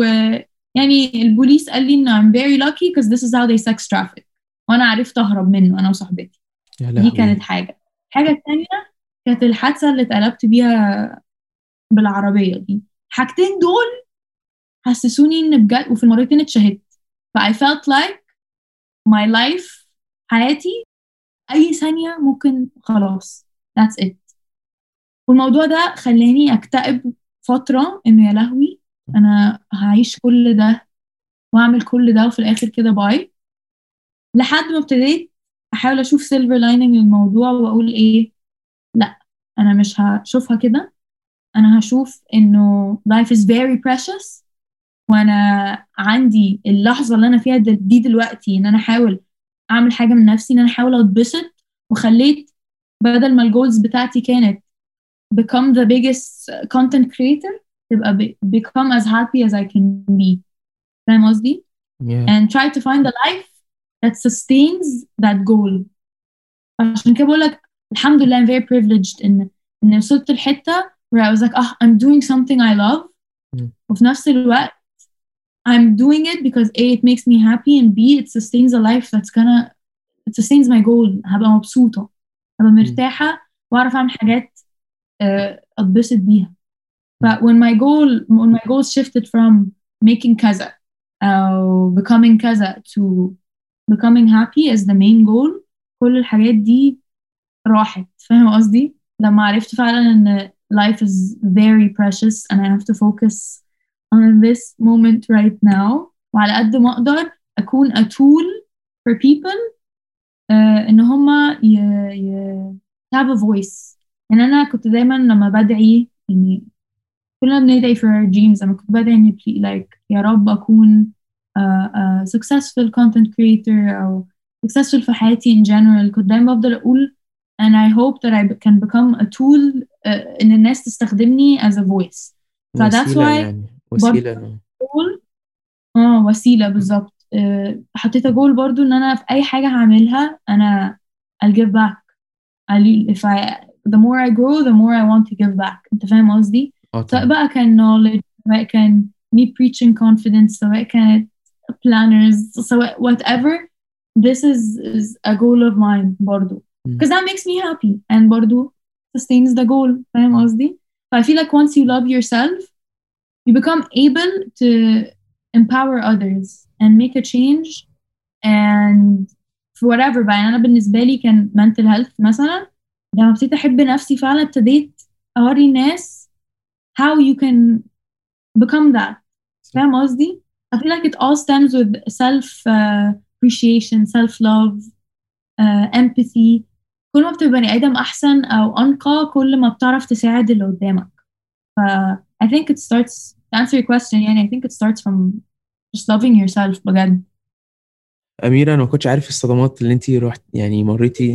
ويعني البوليس قال لي إن I'm very lucky because this is how they sex traffic، وأنا عرفت أهرب منه أنا وصاحبتي. يا دي لهوي. كانت حاجة. الحاجة التانية كانت الحادثة اللي اتقلبت بيها بالعربية دي. حاجتين دول حسسوني إن بجد، وفي المرتين اتشهدت. ف I felt like my life، حياتي أي ثانية ممكن خلاص that's it. والموضوع ده خلاني أكتئب فترة، إنه يا لهوي أنا هعيش كل ده وأعمل كل ده وفي الآخر كده باي. لحد ما ابتديت أحاول أشوف سيلفر لايننج للموضوع وأقول إيه، لأ أنا مش هشوفها كده، أنا هشوف إنه life is very precious، وأنا عندي اللحظة اللي أنا فيها دي دلوقتي إن أنا أحاول أعمل حاجة من نفسي، إن أنا أحاول أتبسط. وخليت بدل ما الجولز بتاعتي كانت become the biggest content creator، تبقى become as happy as I can be. فاهم قصدي؟ Yeah. and try to find a life that sustains that goal. عشان كده بقول لك الحمد لله I'm very privileged إن وصلت الحتة where I was like I'm doing something I love. وفي نفس الوقت I'm doing it because A, it makes me happy, and B, it sustains a life it sustains my goal. هبقى مبسوطة، هبقى مرتاحة، وأعرف أعمل حاجات أتبسط بيها. when my goals shifted from making كذا أو becoming كذا to becoming happy as the main goal، كل الحاجات دي راحت. فاهم قصدي؟ لما عرفت فعلا إن life is very precious and I have to focus on this moment right now، وعلى قد ما أقدر أكون a tool for people إن هما have a voice. يعني أنا كنت دايما لما بدعي، يعني كلنا بندعي for our dreams، أنا كنت بدعي إني like يا رب أكون successful content creator أو successful في حياتي in general. كنت دايما بفضل أقول and I hope that I can become a tool إن الناس تستخدمني as a voice. ف that's وسيلة، why يعني وسيلة. وسيلة بالظبط. حطيت جول برضو إن أنا في أي حاجة هعملها أنا I'll give back. the more I grow the more I want to give back. أنت فاهم قصدي؟ سواء طبعا. بقى كان knowledge، سواء كان me preaching confidence، سواء كانت planners، سواء whatever. This is a goal of mine برضو because that makes me happy and برضو sustains the goal. فاهم قصدي؟ I feel like once you love yourself you become able to empower others and make a change and for whatever بقى. يعني أنا بالنسبة لي كان mental health مثلا، لما ابتديت أحب نفسي فعلا ابتديت أوري الناس how you can become that. فاهم قصدي؟ I feel like it all stems with self appreciation, self love, empathy. كل ما بتبقى بني آدم أحسن أو أنقى كل ما بتعرف تساعد اللي قدامك. ف I think it starts to answer your question. يعني I think it starts from just loving yourself بجد. أميرة، أنا ما كنتش عارف الصدمات اللي أنتي يعني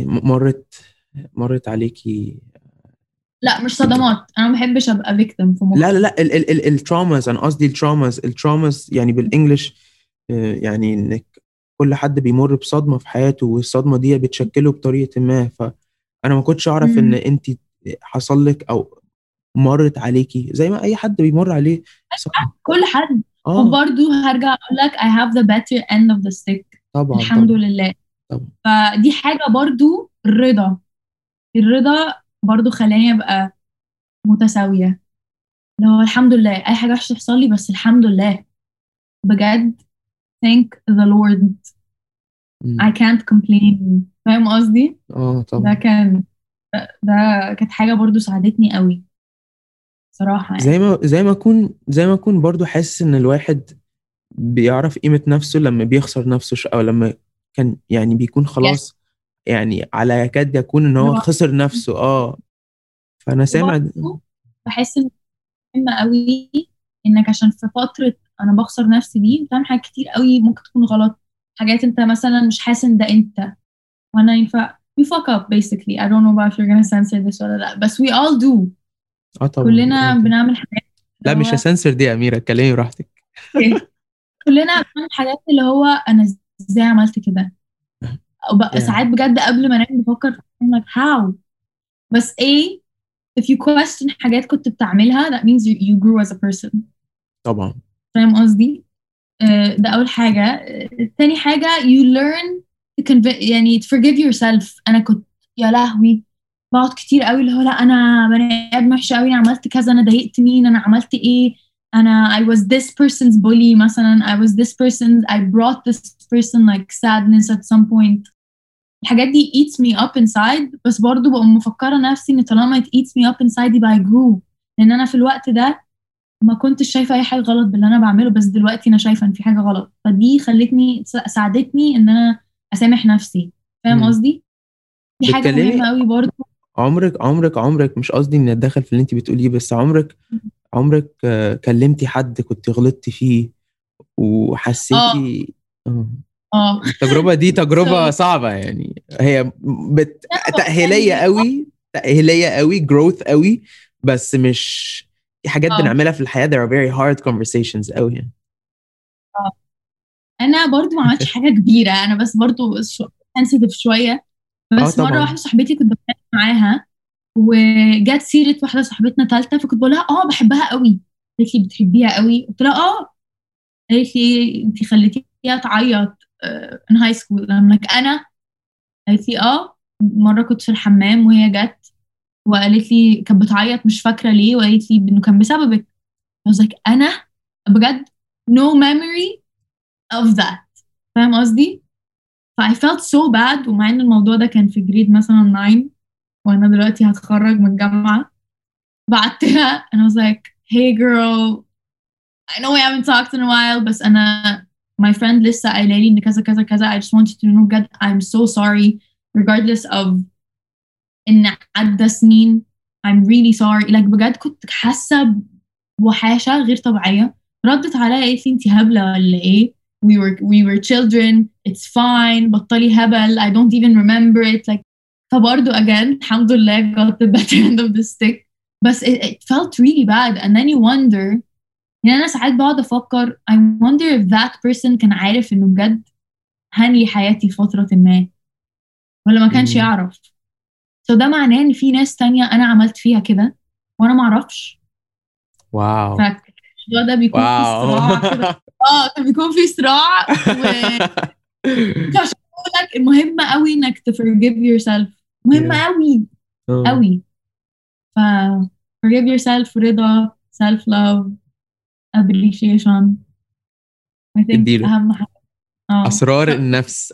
مرت عليكي. لا مش صدمات، أنا ما بحبش أبقى victim في مخي. لا الترaumas، أنا قصدي الترaumas يعني بالإنجلش. يعني إنك كل حد بيمر بصدمة في حياته والصدمة دي بتشكله بطريقة ما. فأنا ما كنتش أعرف إن أنتي حصل لك أو مرت عليكي زي ما أي حد بيمر عليه صدمة. كل حد. وبرضو هرجع أقول لك I have the better end of the stick. طبعا الحمد طبعا. لله. طبعا. فدي حاجة برضو الرضا برضو خلاني أبقى متساوية. لو الحمد لله أي حاجة وحشة تحصل لي بس الحمد لله بجد thank the Lord. I can't complain. فاهم قصدي؟ طبعا. ده كان ده كانت حاجة برضو ساعدتني قوي صراحة يعني. زي ما اكون برضو حاسس ان الواحد بيعرف قيمة نفسه لما بيخسر نفسه او لما كان يعني بيكون Yes. خلاص يعني على يكاد يكون ان هو برافو. خسر نفسه. فانا سامع وبرضو بحس ان مهم قوي انك عشان في فترة انا بخسر نفسي دي بتعمل حاجات كتير قوي ممكن تكون غلط، حاجات انت مثلا مش حاسس ان ده انت، وانا ينفع you fuck up basically. I don't know about if you're gonna censor this ولا لا، بس we all do. طبعا كلنا يعني. بنعمل حاجات لا اللي مش هو هسنسر دي يا أميرة، اتكلمي براحتك. كلنا بنعمل حاجات اللي هو انا ازاي عملت كده، او بقى Yeah. ساعات بجد قبل ما انام بفكر I'm like how. بس ايه if you question حاجات كنت بتعملها that means you grew as a person. طبعا. فاهم قصدي؟ ده أول حاجة. تاني حاجة you learn to يعني to forgive yourself. أنا كنت يا لهوي بقعد كتير قوي اللي هو لا أنا بني آدم وحشة قوي، أنا عملت كذا، أنا ضايقت مين، أنا عملت إيه، أنا I was this person's bully مثلا، I was this person, I brought this person like sadness at some point. الحاجات دي eats me up inside، بس برضو بقوم مفكرة نفسي إن طالما it eats me up inside يبقى I grew، لأن أنا في الوقت ده ما كنتش شايفة أي حاجة غلط باللي أنا بعمله، بس دلوقتي أنا شايفة إن في حاجة غلط، فدي خلتني ساعدتني إن أنا أسامح نفسي. فاهم مم. قصدي؟ دي حاجة بتكلمي مهمة قوي برضو. عمرك مش قصدي اني اتدخل في اللي انت بتقوليه، بس عمرك كلمتي حد كنت غلطتي فيه اه وحسيتي آه. اه التجربة دي تجربة so صعبة يعني، هي تأهيلية يعني قوي، تأهيلية قوي، growth قوي، بس مش في حاجات اه بنعملها في الحياة there are very hard conversations قوي يعني. اه أنا برضو ما عملتش حاجة كبيرة، أنا بس برضو sensitive شوية. بس مرة طبعا. واحدة صاحبتي كنت بتكلم معاها وجات سيرة واحدة صاحبتنا تالتة، فكنت بقول لها بحبها قوي. قالت لي بتحبيها قوي؟ قلت لها قالت لي انت خليتيها تعيط in high school. I'm like انا؟ قالت لي مرة كنت في الحمام وهي جت وقالت لي كانت بتعيط مش فاكرة ليه، وقالت لي انه كان بسببك. I was like انا بجد no memory of that. فاهم قصدي؟ ف I felt so bad، ومع ان الموضوع ده كان في جريد مثلا 9 وانا دلوقتي هتخرج من الجامعة، بعتها and I was like hey girl I know we haven't talked in a while بس أنا my friend لسه قايلة لي إن كذا كذا كذا. I just want you to know بجد I'm so sorry regardless of إن عدى سنين. I'm really sorry like بجد كنت حاسة بوحاشة غير طبيعية. ردت عليا قالت لي أنتي هبلة ولا إيه؟ we were children, it's fine، بطلي هبل، I don't even remember it like. فبرضه again الحمد لله got the better end of the stick، بس it felt really bad and then you wonder. يعني أنا ساعات بقعد أفكر I wonder if that person كان عارف إنه بجد هني حياتي في فترة ما ولا ما كانش مم. يعرف. so ده معناه إن في ناس تانية أنا عملت فيها كده وأنا ما أعرفش. واو. فالموضوع ده بيكون في واو. صراع كده. كان بيكون في صراع عشان أقول لك مهم قوي إنك to forgive yourself. مهم Yeah. قوي قوي. ف forgive yourself، رضا، self love، appreciation I think اديله أهم حاجة. اسرار النفس،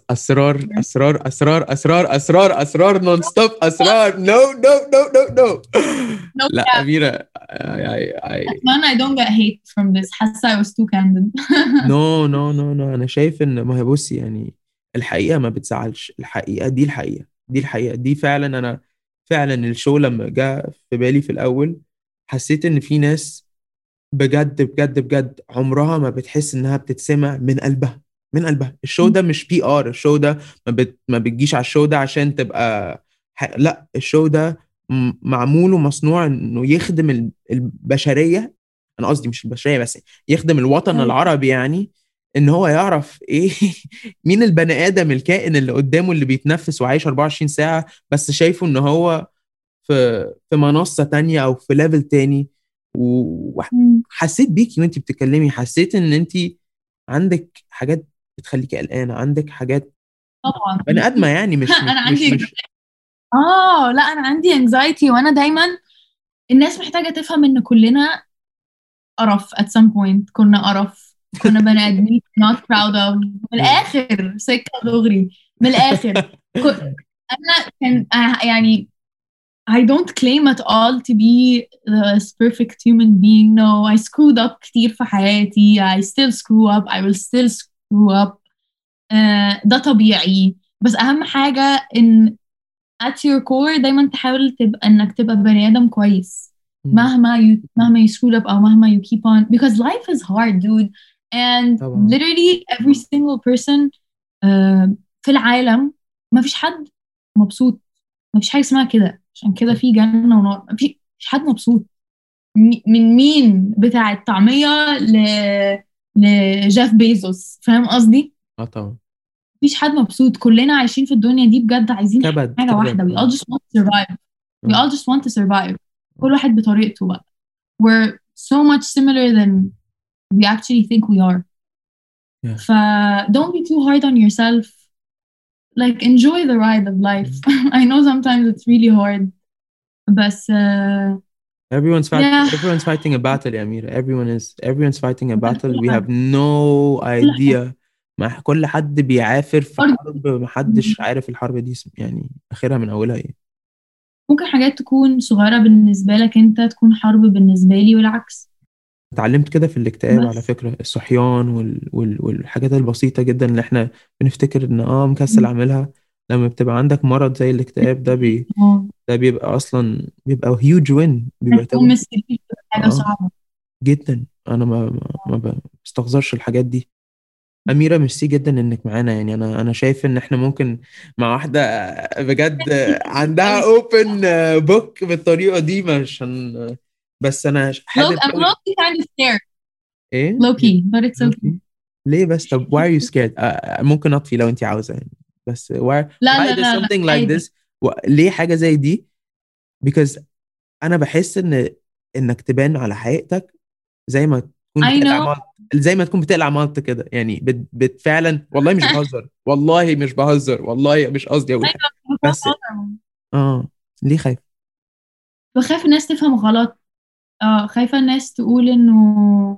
اسرار نون ستوب، اسرار نو نو نو نو نو. No لا cap. اميره أتمنى I don't get hate from this. حاسة I was too candid. نو نو نو نو. انا شايف ان ما هي بصي يعني الحقيقه ما بتزعلش، الحقيقه دي الحقيقه دي فعلا. انا فعلا الشو لما جاء في بالي في الاول حسيت ان في ناس بجد بجد بجد عمرها ما بتحس انها بتتسمع من قلبها، من قلبها. الشو ده مش بي ار، الشو ده ما بتجيش على الشو ده عشان تبقى لا، الشو ده معمول ومصنوع انه يخدم البشرية. انا قصدي مش البشرية بس، يخدم الوطن العربي يعني. ان هو يعرف ايه مين البني ادم الكائن اللي قدامه اللي بيتنفس وعايش 24 ساعة، بس شايفه ان هو في منصة تانية او في ليفل تاني. وحسيت بيكي وانت بتتكلمي، حسيت ان انت عندك حاجات بتخليكي قلقانه، عندك حاجات طبعا بني ادمه يعني، مش أنا مش عندي مش لا أنا عندي anxiety، وأنا دايما الناس محتاجة تفهم إن كلنا قرف at some point. كنا قرف، كنا بني آدمين not proud of. من الآخر سكة دغري، من الآخر أنا كان يعني I don't claim at all to be this perfect human being. No, I screwed up كتير في حياتي. I still screw up. I will still screw up. ده طبيعي. بس أهم حاجة إن at your core دايما تحاول إنك تبقى بني آدم كويس. مهما you screwed up أو مهما you keep on, because life is hard, dude. And طبعا. literally every single person في العالم ما فيش حد مبسوط. ما فيش حاجة اسمها كده. عشان كده في جنة ونار. ما فيش حد مبسوط. من مين بتاع الطعمية لجيف بيزوس. فاهم قصدي؟ طبعا. مفيش حد مبسوط. كلنا عايشين في الدنيا دي بجد عايزين كبد حاجة واحدة. We all just want to survive. We all just want to survive. كل واحد بطريقته بقى. We're so much similar than we actually think we are. Yeah. Don't be too hard on yourself. Like, enjoy the ride of life. I know sometimes it's really hard. But Everyone's yeah. fighting a battle يا أميرة. Everyone's fighting a battle. We have no idea. ما كل حد بيعافر في حرب محدش عارف الحرب دي يعني آخرها من أولها إيه. ممكن حاجات تكون صغيرة بالنسبة لك أنت تكون حرب بالنسبة لي والعكس. اتعلمت كده في الاكتئاب بس على فكرة. الصحيان والحاجات البسيطة جدا اللي احنا بنفتكر ان مكسل اعملها، لما بتبقى عندك مرض زي الاكتئاب ده ده بيبقى اصلا بيبقى huge win. بيبقى تقوم حاجة صعبة جدا. انا ما بستخسرش الحاجات دي. أميرة ميرسي جدا إنك معانا. يعني أنا شايف إن إحنا ممكن مع واحدة بجد عندها open book بالطريقة دي مش بس أنا حابب I'm low-key kind of scared. إيه؟ low-key but it's okay. ليه بس؟ طب why are you scared؟ ممكن أطفي لو أنت عاوزة يعني. بس why لا does something like عادي. this ليه حاجة زي دي؟ because أنا بحس إنك تبان على حقيقتك زي ما تكون I بتقلع know. مالت، زي ما تكون بتقلع مالت كده يعني. فعلا والله مش بهزر. والله مش بهزر. والله مش قصدي أقول حاجة. بس ليه خايف؟ بخاف الناس تفهم غلط. خايفة الناس تقول إنه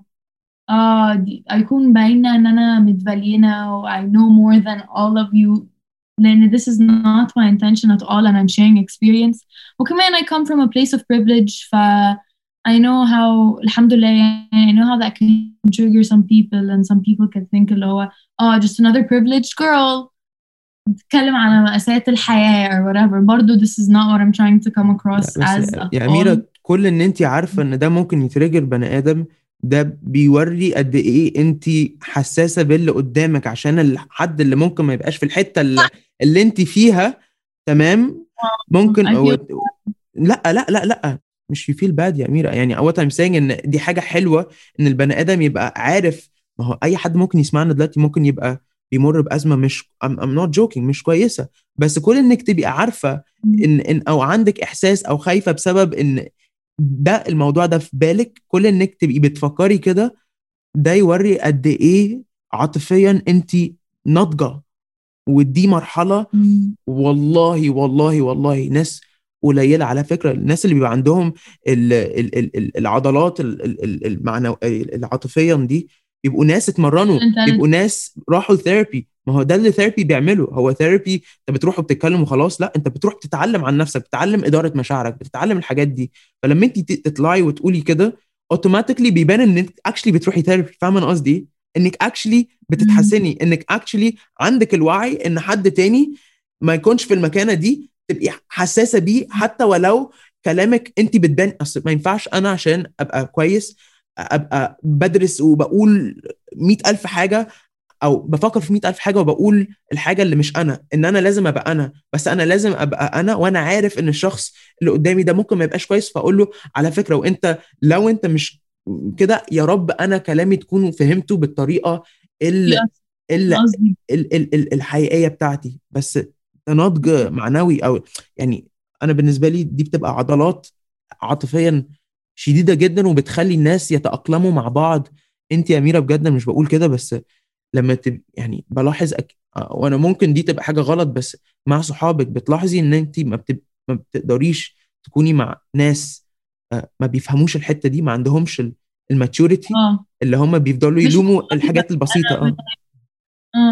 أكون باينة إن أنا متبلينة و I know more than all of you. لأن this is not my intention at all and I'm sharing experience. وكمان I come from a place of privilege. I know how الحمد لله يعني I know how that can trigger some people and some people can think اللي هو just another privileged girl تتكلم على مأساة الحياة or whatever. برضو this is not what I'm trying to come across as at يا all. أميرة، كل إن أنت عارفة إن ده ممكن يترجر بني آدم، ده بيوري قد إيه أنت حساسة باللي قدامك، عشان الحد اللي ممكن ما يبقاش في الحتة اللي أنت فيها تمام ممكن لا لا لا لا مش يفيل باد يا أميرة. يعني what I'm saying إن دي حاجة حلوة إن البني آدم يبقى عارف. ما هو أي حد ممكن يسمعنا دلوقتي ممكن يبقى بيمر بأزمة مش I'm not joking مش كويسة، بس كل إنك تبقى عارفة إن أو عندك إحساس أو خايفة بسبب إن ده الموضوع ده في بالك، كل إنك تبقي بتفكري كده ده يوري قد إيه عاطفيا أنت ناضجة. ودي مرحلة والله والله والله ناس قليلة على فكرة. الناس اللي بيبقى عندهم العضلات العاطفيا دي بيبقوا ناس اتمرنوا، بيبقوا ناس راحوا ثيرابي. ما هو ده اللي ثيرابي بيعمله. هو ثيرابي انت بتروح وبتتكلم وخلاص، لا انت بتروح تتعلم عن نفسك، بتتعلم إدارة مشاعرك، بتتعلم الحاجات دي. فلما انت تطلعي وتقولي كده اوتوماتيكلي بيبان انك اكشلي بتروحي ثيرابي. فاهمه انا قصدي؟ انك اكشلي بتتحسني، انك اكشلي عندك الوعي ان حد تاني ما يكونش في المكانه دي تبقي حساسه بيه، حتى ولو كلامك انت بتبان. اصل ما ينفعش انا عشان ابقى كويس ابقى بدرس وبقول 100,000 حاجه او بفكر في 100,000 حاجه وبقول الحاجه اللي مش انا. ان انا لازم ابقى انا، بس انا لازم ابقى انا وانا عارف ان الشخص اللي قدامي ده ممكن ما يبقاش كويس، فاقول له على فكره وانت لو انت مش كده يا رب انا كلامي تكونوا فهمته بالطريقه الحقيقيه بتاعتي. بس نضج معنوي او يعني انا بالنسبه لي دي بتبقى عضلات عاطفيا شديده جدا وبتخلي الناس يتاقلموا مع بعض. انت يا اميره بجد مش بقول كده، بس لما يعني بلاحظ وانا ممكن دي تبقى حاجه غلط، بس مع صحابك بتلاحظي ان انت ما بتقدريش تكوني مع ناس ما بيفهموش الحته دي، ما عندهمش الماتيوريتي اللي هم بيفضلوا يلوموا الحاجات البسيطه.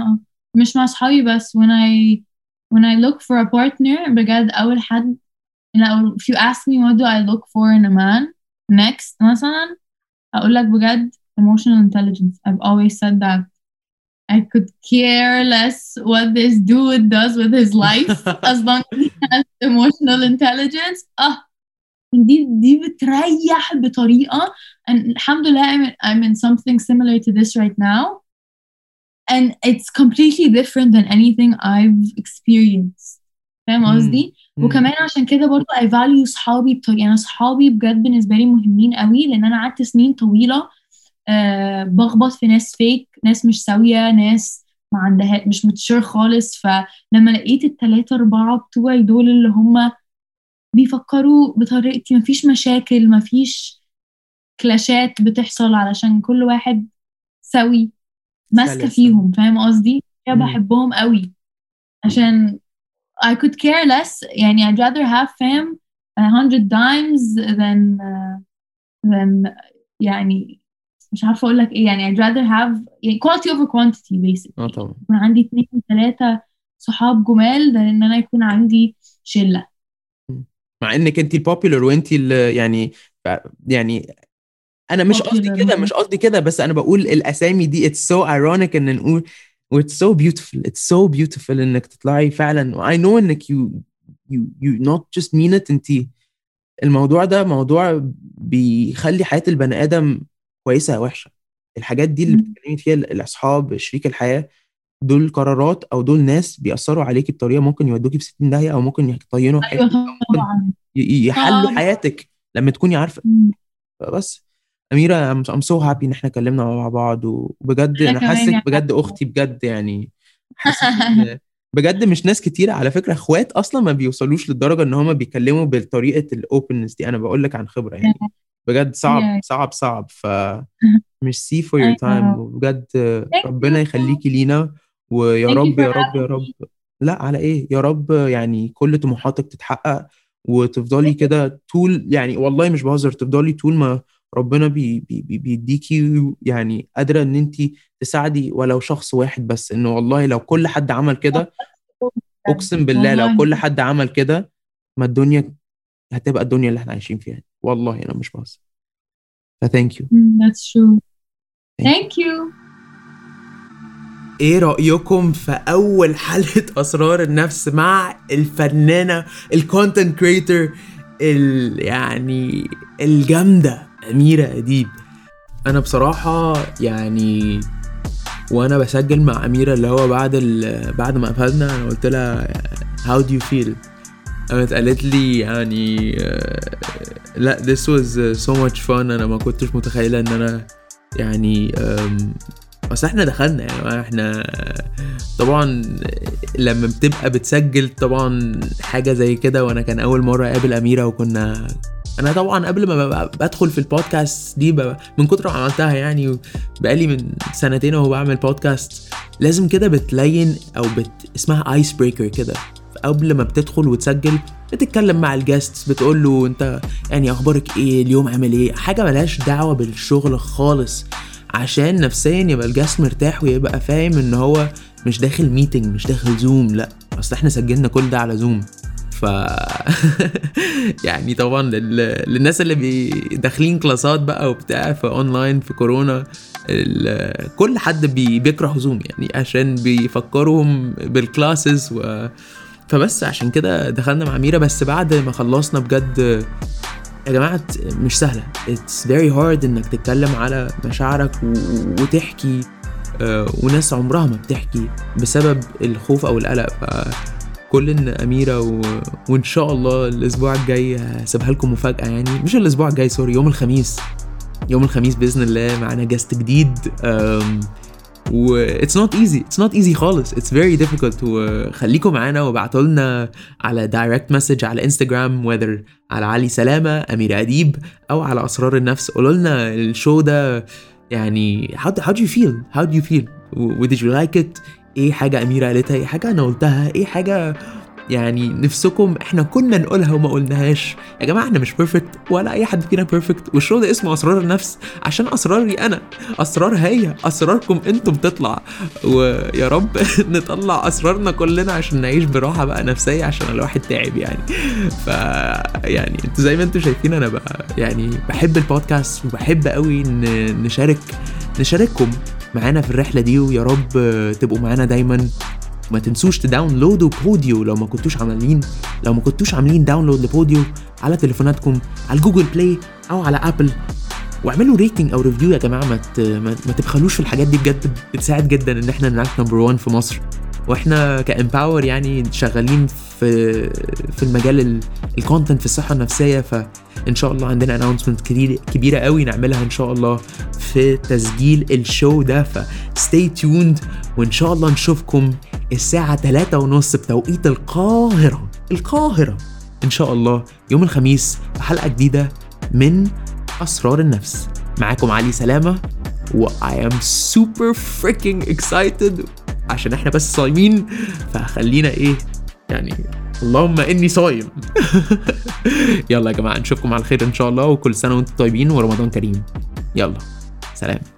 مش مع صحابي بس. when I look for a partner بجد أول حد لو if you ask me what do I look for in a man next مثلا أقول لك بجد emotional intelligence. I've always said that. I could care less what this dude does with his life as long as he has emotional intelligence. دي بتريح بطريقة. And الحمد لله I'm in something similar to this right now. And it's completely different than anything I've experienced. فاهم قصدي؟ وكمان عشان كده برضو I value صحابي بطريقة. أنا صحابي بجد بالنسبة لي مهمين قوي لأن أنا قعدت سنين طويلة بخبط في ناس فيك، ناس مش سوية، ناس ما عندها مش متشير خالص. فلما لقيت 3-4 بتوعي دول اللي هم بيفكروا بطريقتي، مفيش مشاكل، مفيش كلاشات بتحصل علشان كل واحد سوي ماسكة فيهم. فاهم قصدي؟ بحبهم قوي عشان I could care less. يعني I'd rather have fam 100 times than يعني مش عارفة أقول لك إيه. يعني I'd rather have يعني quality over quantity basically. طبعا يكون عندي 2-3 صحاب جمال ده إن أنا يكون عندي شلة. مع إنك أنتي البوبيلر وأنتي يعني أنا مش قصدي كده بس أنا بقول الأسامي دي it's so ironic إن نقول it's so beautiful إنك تطلعي فعلا. I know إنك you not just mean it. أنتي الموضوع ده موضوع بيخلي حياة البني آدم كويسة وحشة. الحاجات دي اللي بتتكلمي فيها الأصحاب، شريك الحياة، دول قرارات أو دول ناس بيأثروا عليكي بطريقة ممكن يودوكي في 60 داهية أو ممكن يطينوا حياتك أو ممكن يحلوا حياتك لما تكوني عارفة. بس أميرة I'm so happy إن إحنا اتكلمنا مع بعض وبجد أنا حاسك بجد أختي بجد. يعني حاسك بجد مش ناس كتير على فكرة اخوات اصلا ما بيوصلوش للدرجة ان هما بيتكلموا بالطريقة الاوبننس دي. انا بقول لك عن خبرة يعني بجد صعب مش سي for your time. وبجد ربنا يخليكي لينا ويا رب يا رب لا على ايه يا رب يعني كل طموحاتك تتحقق وتفضلي كده طول يعني والله مش بهزر تفضلي طول ما ربنا بيديكي يعني قادرة ان انت تساعدي ولو شخص واحد بس. انه والله لو كل حد عمل كده اقسم بالله لو كل حد عمل كده ما الدنيا هتبقى الدنيا اللي احنا عايشين فيها. والله انا مش بهزر. thank you. That's true. Thank you. ايه رأيكم في اول حلقة اسرار النفس مع الفنانة الكونتنت كريتور يعني الجامدة أميرة أديب؟ انا بصراحة يعني وانا بسجل مع أميرة اللي هو بعد ما قفلنا انا قلت لها how do you feel؟ قامت قالت لي يعني لا this was so much fun. انا ما كنتش متخيلة ان انا يعني اصل احنا دخلنا يعني احنا طبعا لما بتبقى بتسجل طبعا حاجة زي كده. وانا كان اول مرة اقابل أميرة وكنا انا طبعا قبل ما بدخل في البودكاست دي من كتر ما عملتها يعني بقالي من 2 وهو بعمل بودكاست لازم كده بتلين او اسمها ايس بريكر كده. قبل ما بتدخل وتسجل بتتكلم مع الجاست بتقول له انت يعني اخبارك ايه اليوم عامل ايه، حاجة ملهاش دعوة بالشغل خالص عشان نفسيا يبقى الجاست مرتاح ويبقى فاهم ان هو مش داخل ميتنج مش داخل زوم. لا اصل احنا سجلنا كل ده على زوم. ف يعني طبعا للناس اللي داخلين كلاسات بقى وبتاع في اونلاين في كورونا كل حد بيكره زوم يعني عشان بيفكرهم بالكلاسز فبس عشان كده دخلنا مع أميرة. بس بعد ما خلصنا بجد يا جماعة مش سهلة. it's very hard انك تتكلم على مشاعرك وتحكي وناس عمرها ما بتحكي بسبب الخوف او القلق. فكل ان أميرة وان شاء الله الاسبوع الجاي هسيبها لكم مفاجأة يعني مش الاسبوع الجاي سوري يوم الخميس بإذن الله معنا جاست جديد. و it's not easy خالص. it's very difficult. وخليكم معانا وابعتوا لنا على direct message على انستجرام whether على علي سلامة أميرة أديب أو على أسرار النفس. قولوا لنا الشو ده يعني how do you feel did you like it؟ ايه حاجة أميرة قالتها، ايه حاجة أنا قلتها، ايه حاجة يعني نفسكم احنا كنا نقولها وما قلناهاش. يا جماعه احنا مش بيرفكت ولا اي حد فينا بيرفكت، والشو ده اسمه اسرار النفس عشان اسراري انا، اسرار هي، اسراركم انتم تطلع، ويا رب نطلع اسرارنا كلنا عشان نعيش براحه بقى نفسيه، عشان الواحد تعب يعني. ف يعني انتوا زي ما انتوا شايفين انا بقى يعني بحب البودكاست وبحب قوي نشارككم معانا في الرحله دي، ويا رب تبقوا معانا دايما. ما تنسوش تداونلودوا بوديو لو ما كنتوش عاملين داونلود لبوديو على تليفوناتكم على جوجل بلاي او على ابل، واعملوا ريتنج او ريفيو يا جماعه. ما تبخلوش في الحاجات دي، بجد بتساعد جدا ان احنا نرانك نمبر 1 في مصر. واحنا كامباور يعني شغالين في المجال الكونتنت في الصحه النفسيه، فان شاء الله عندنا اناونسمنت كبيره قوي نعملها ان شاء الله في تسجيل الشو ده. فستي تيوند، وان شاء الله نشوفكم الساعه 3:30 بتوقيت القاهره ان شاء الله يوم الخميس في حلقه جديده من اسرار النفس. معاكم علي سلامه، و I am super freaking excited عشان احنا بس صايمين، فخلينا ايه يعني اللهم اني صايم. يلا يا جماعه نشوفكم على خير ان شاء الله، وكل سنه وانتم طيبين ورمضان كريم. يلا سلام.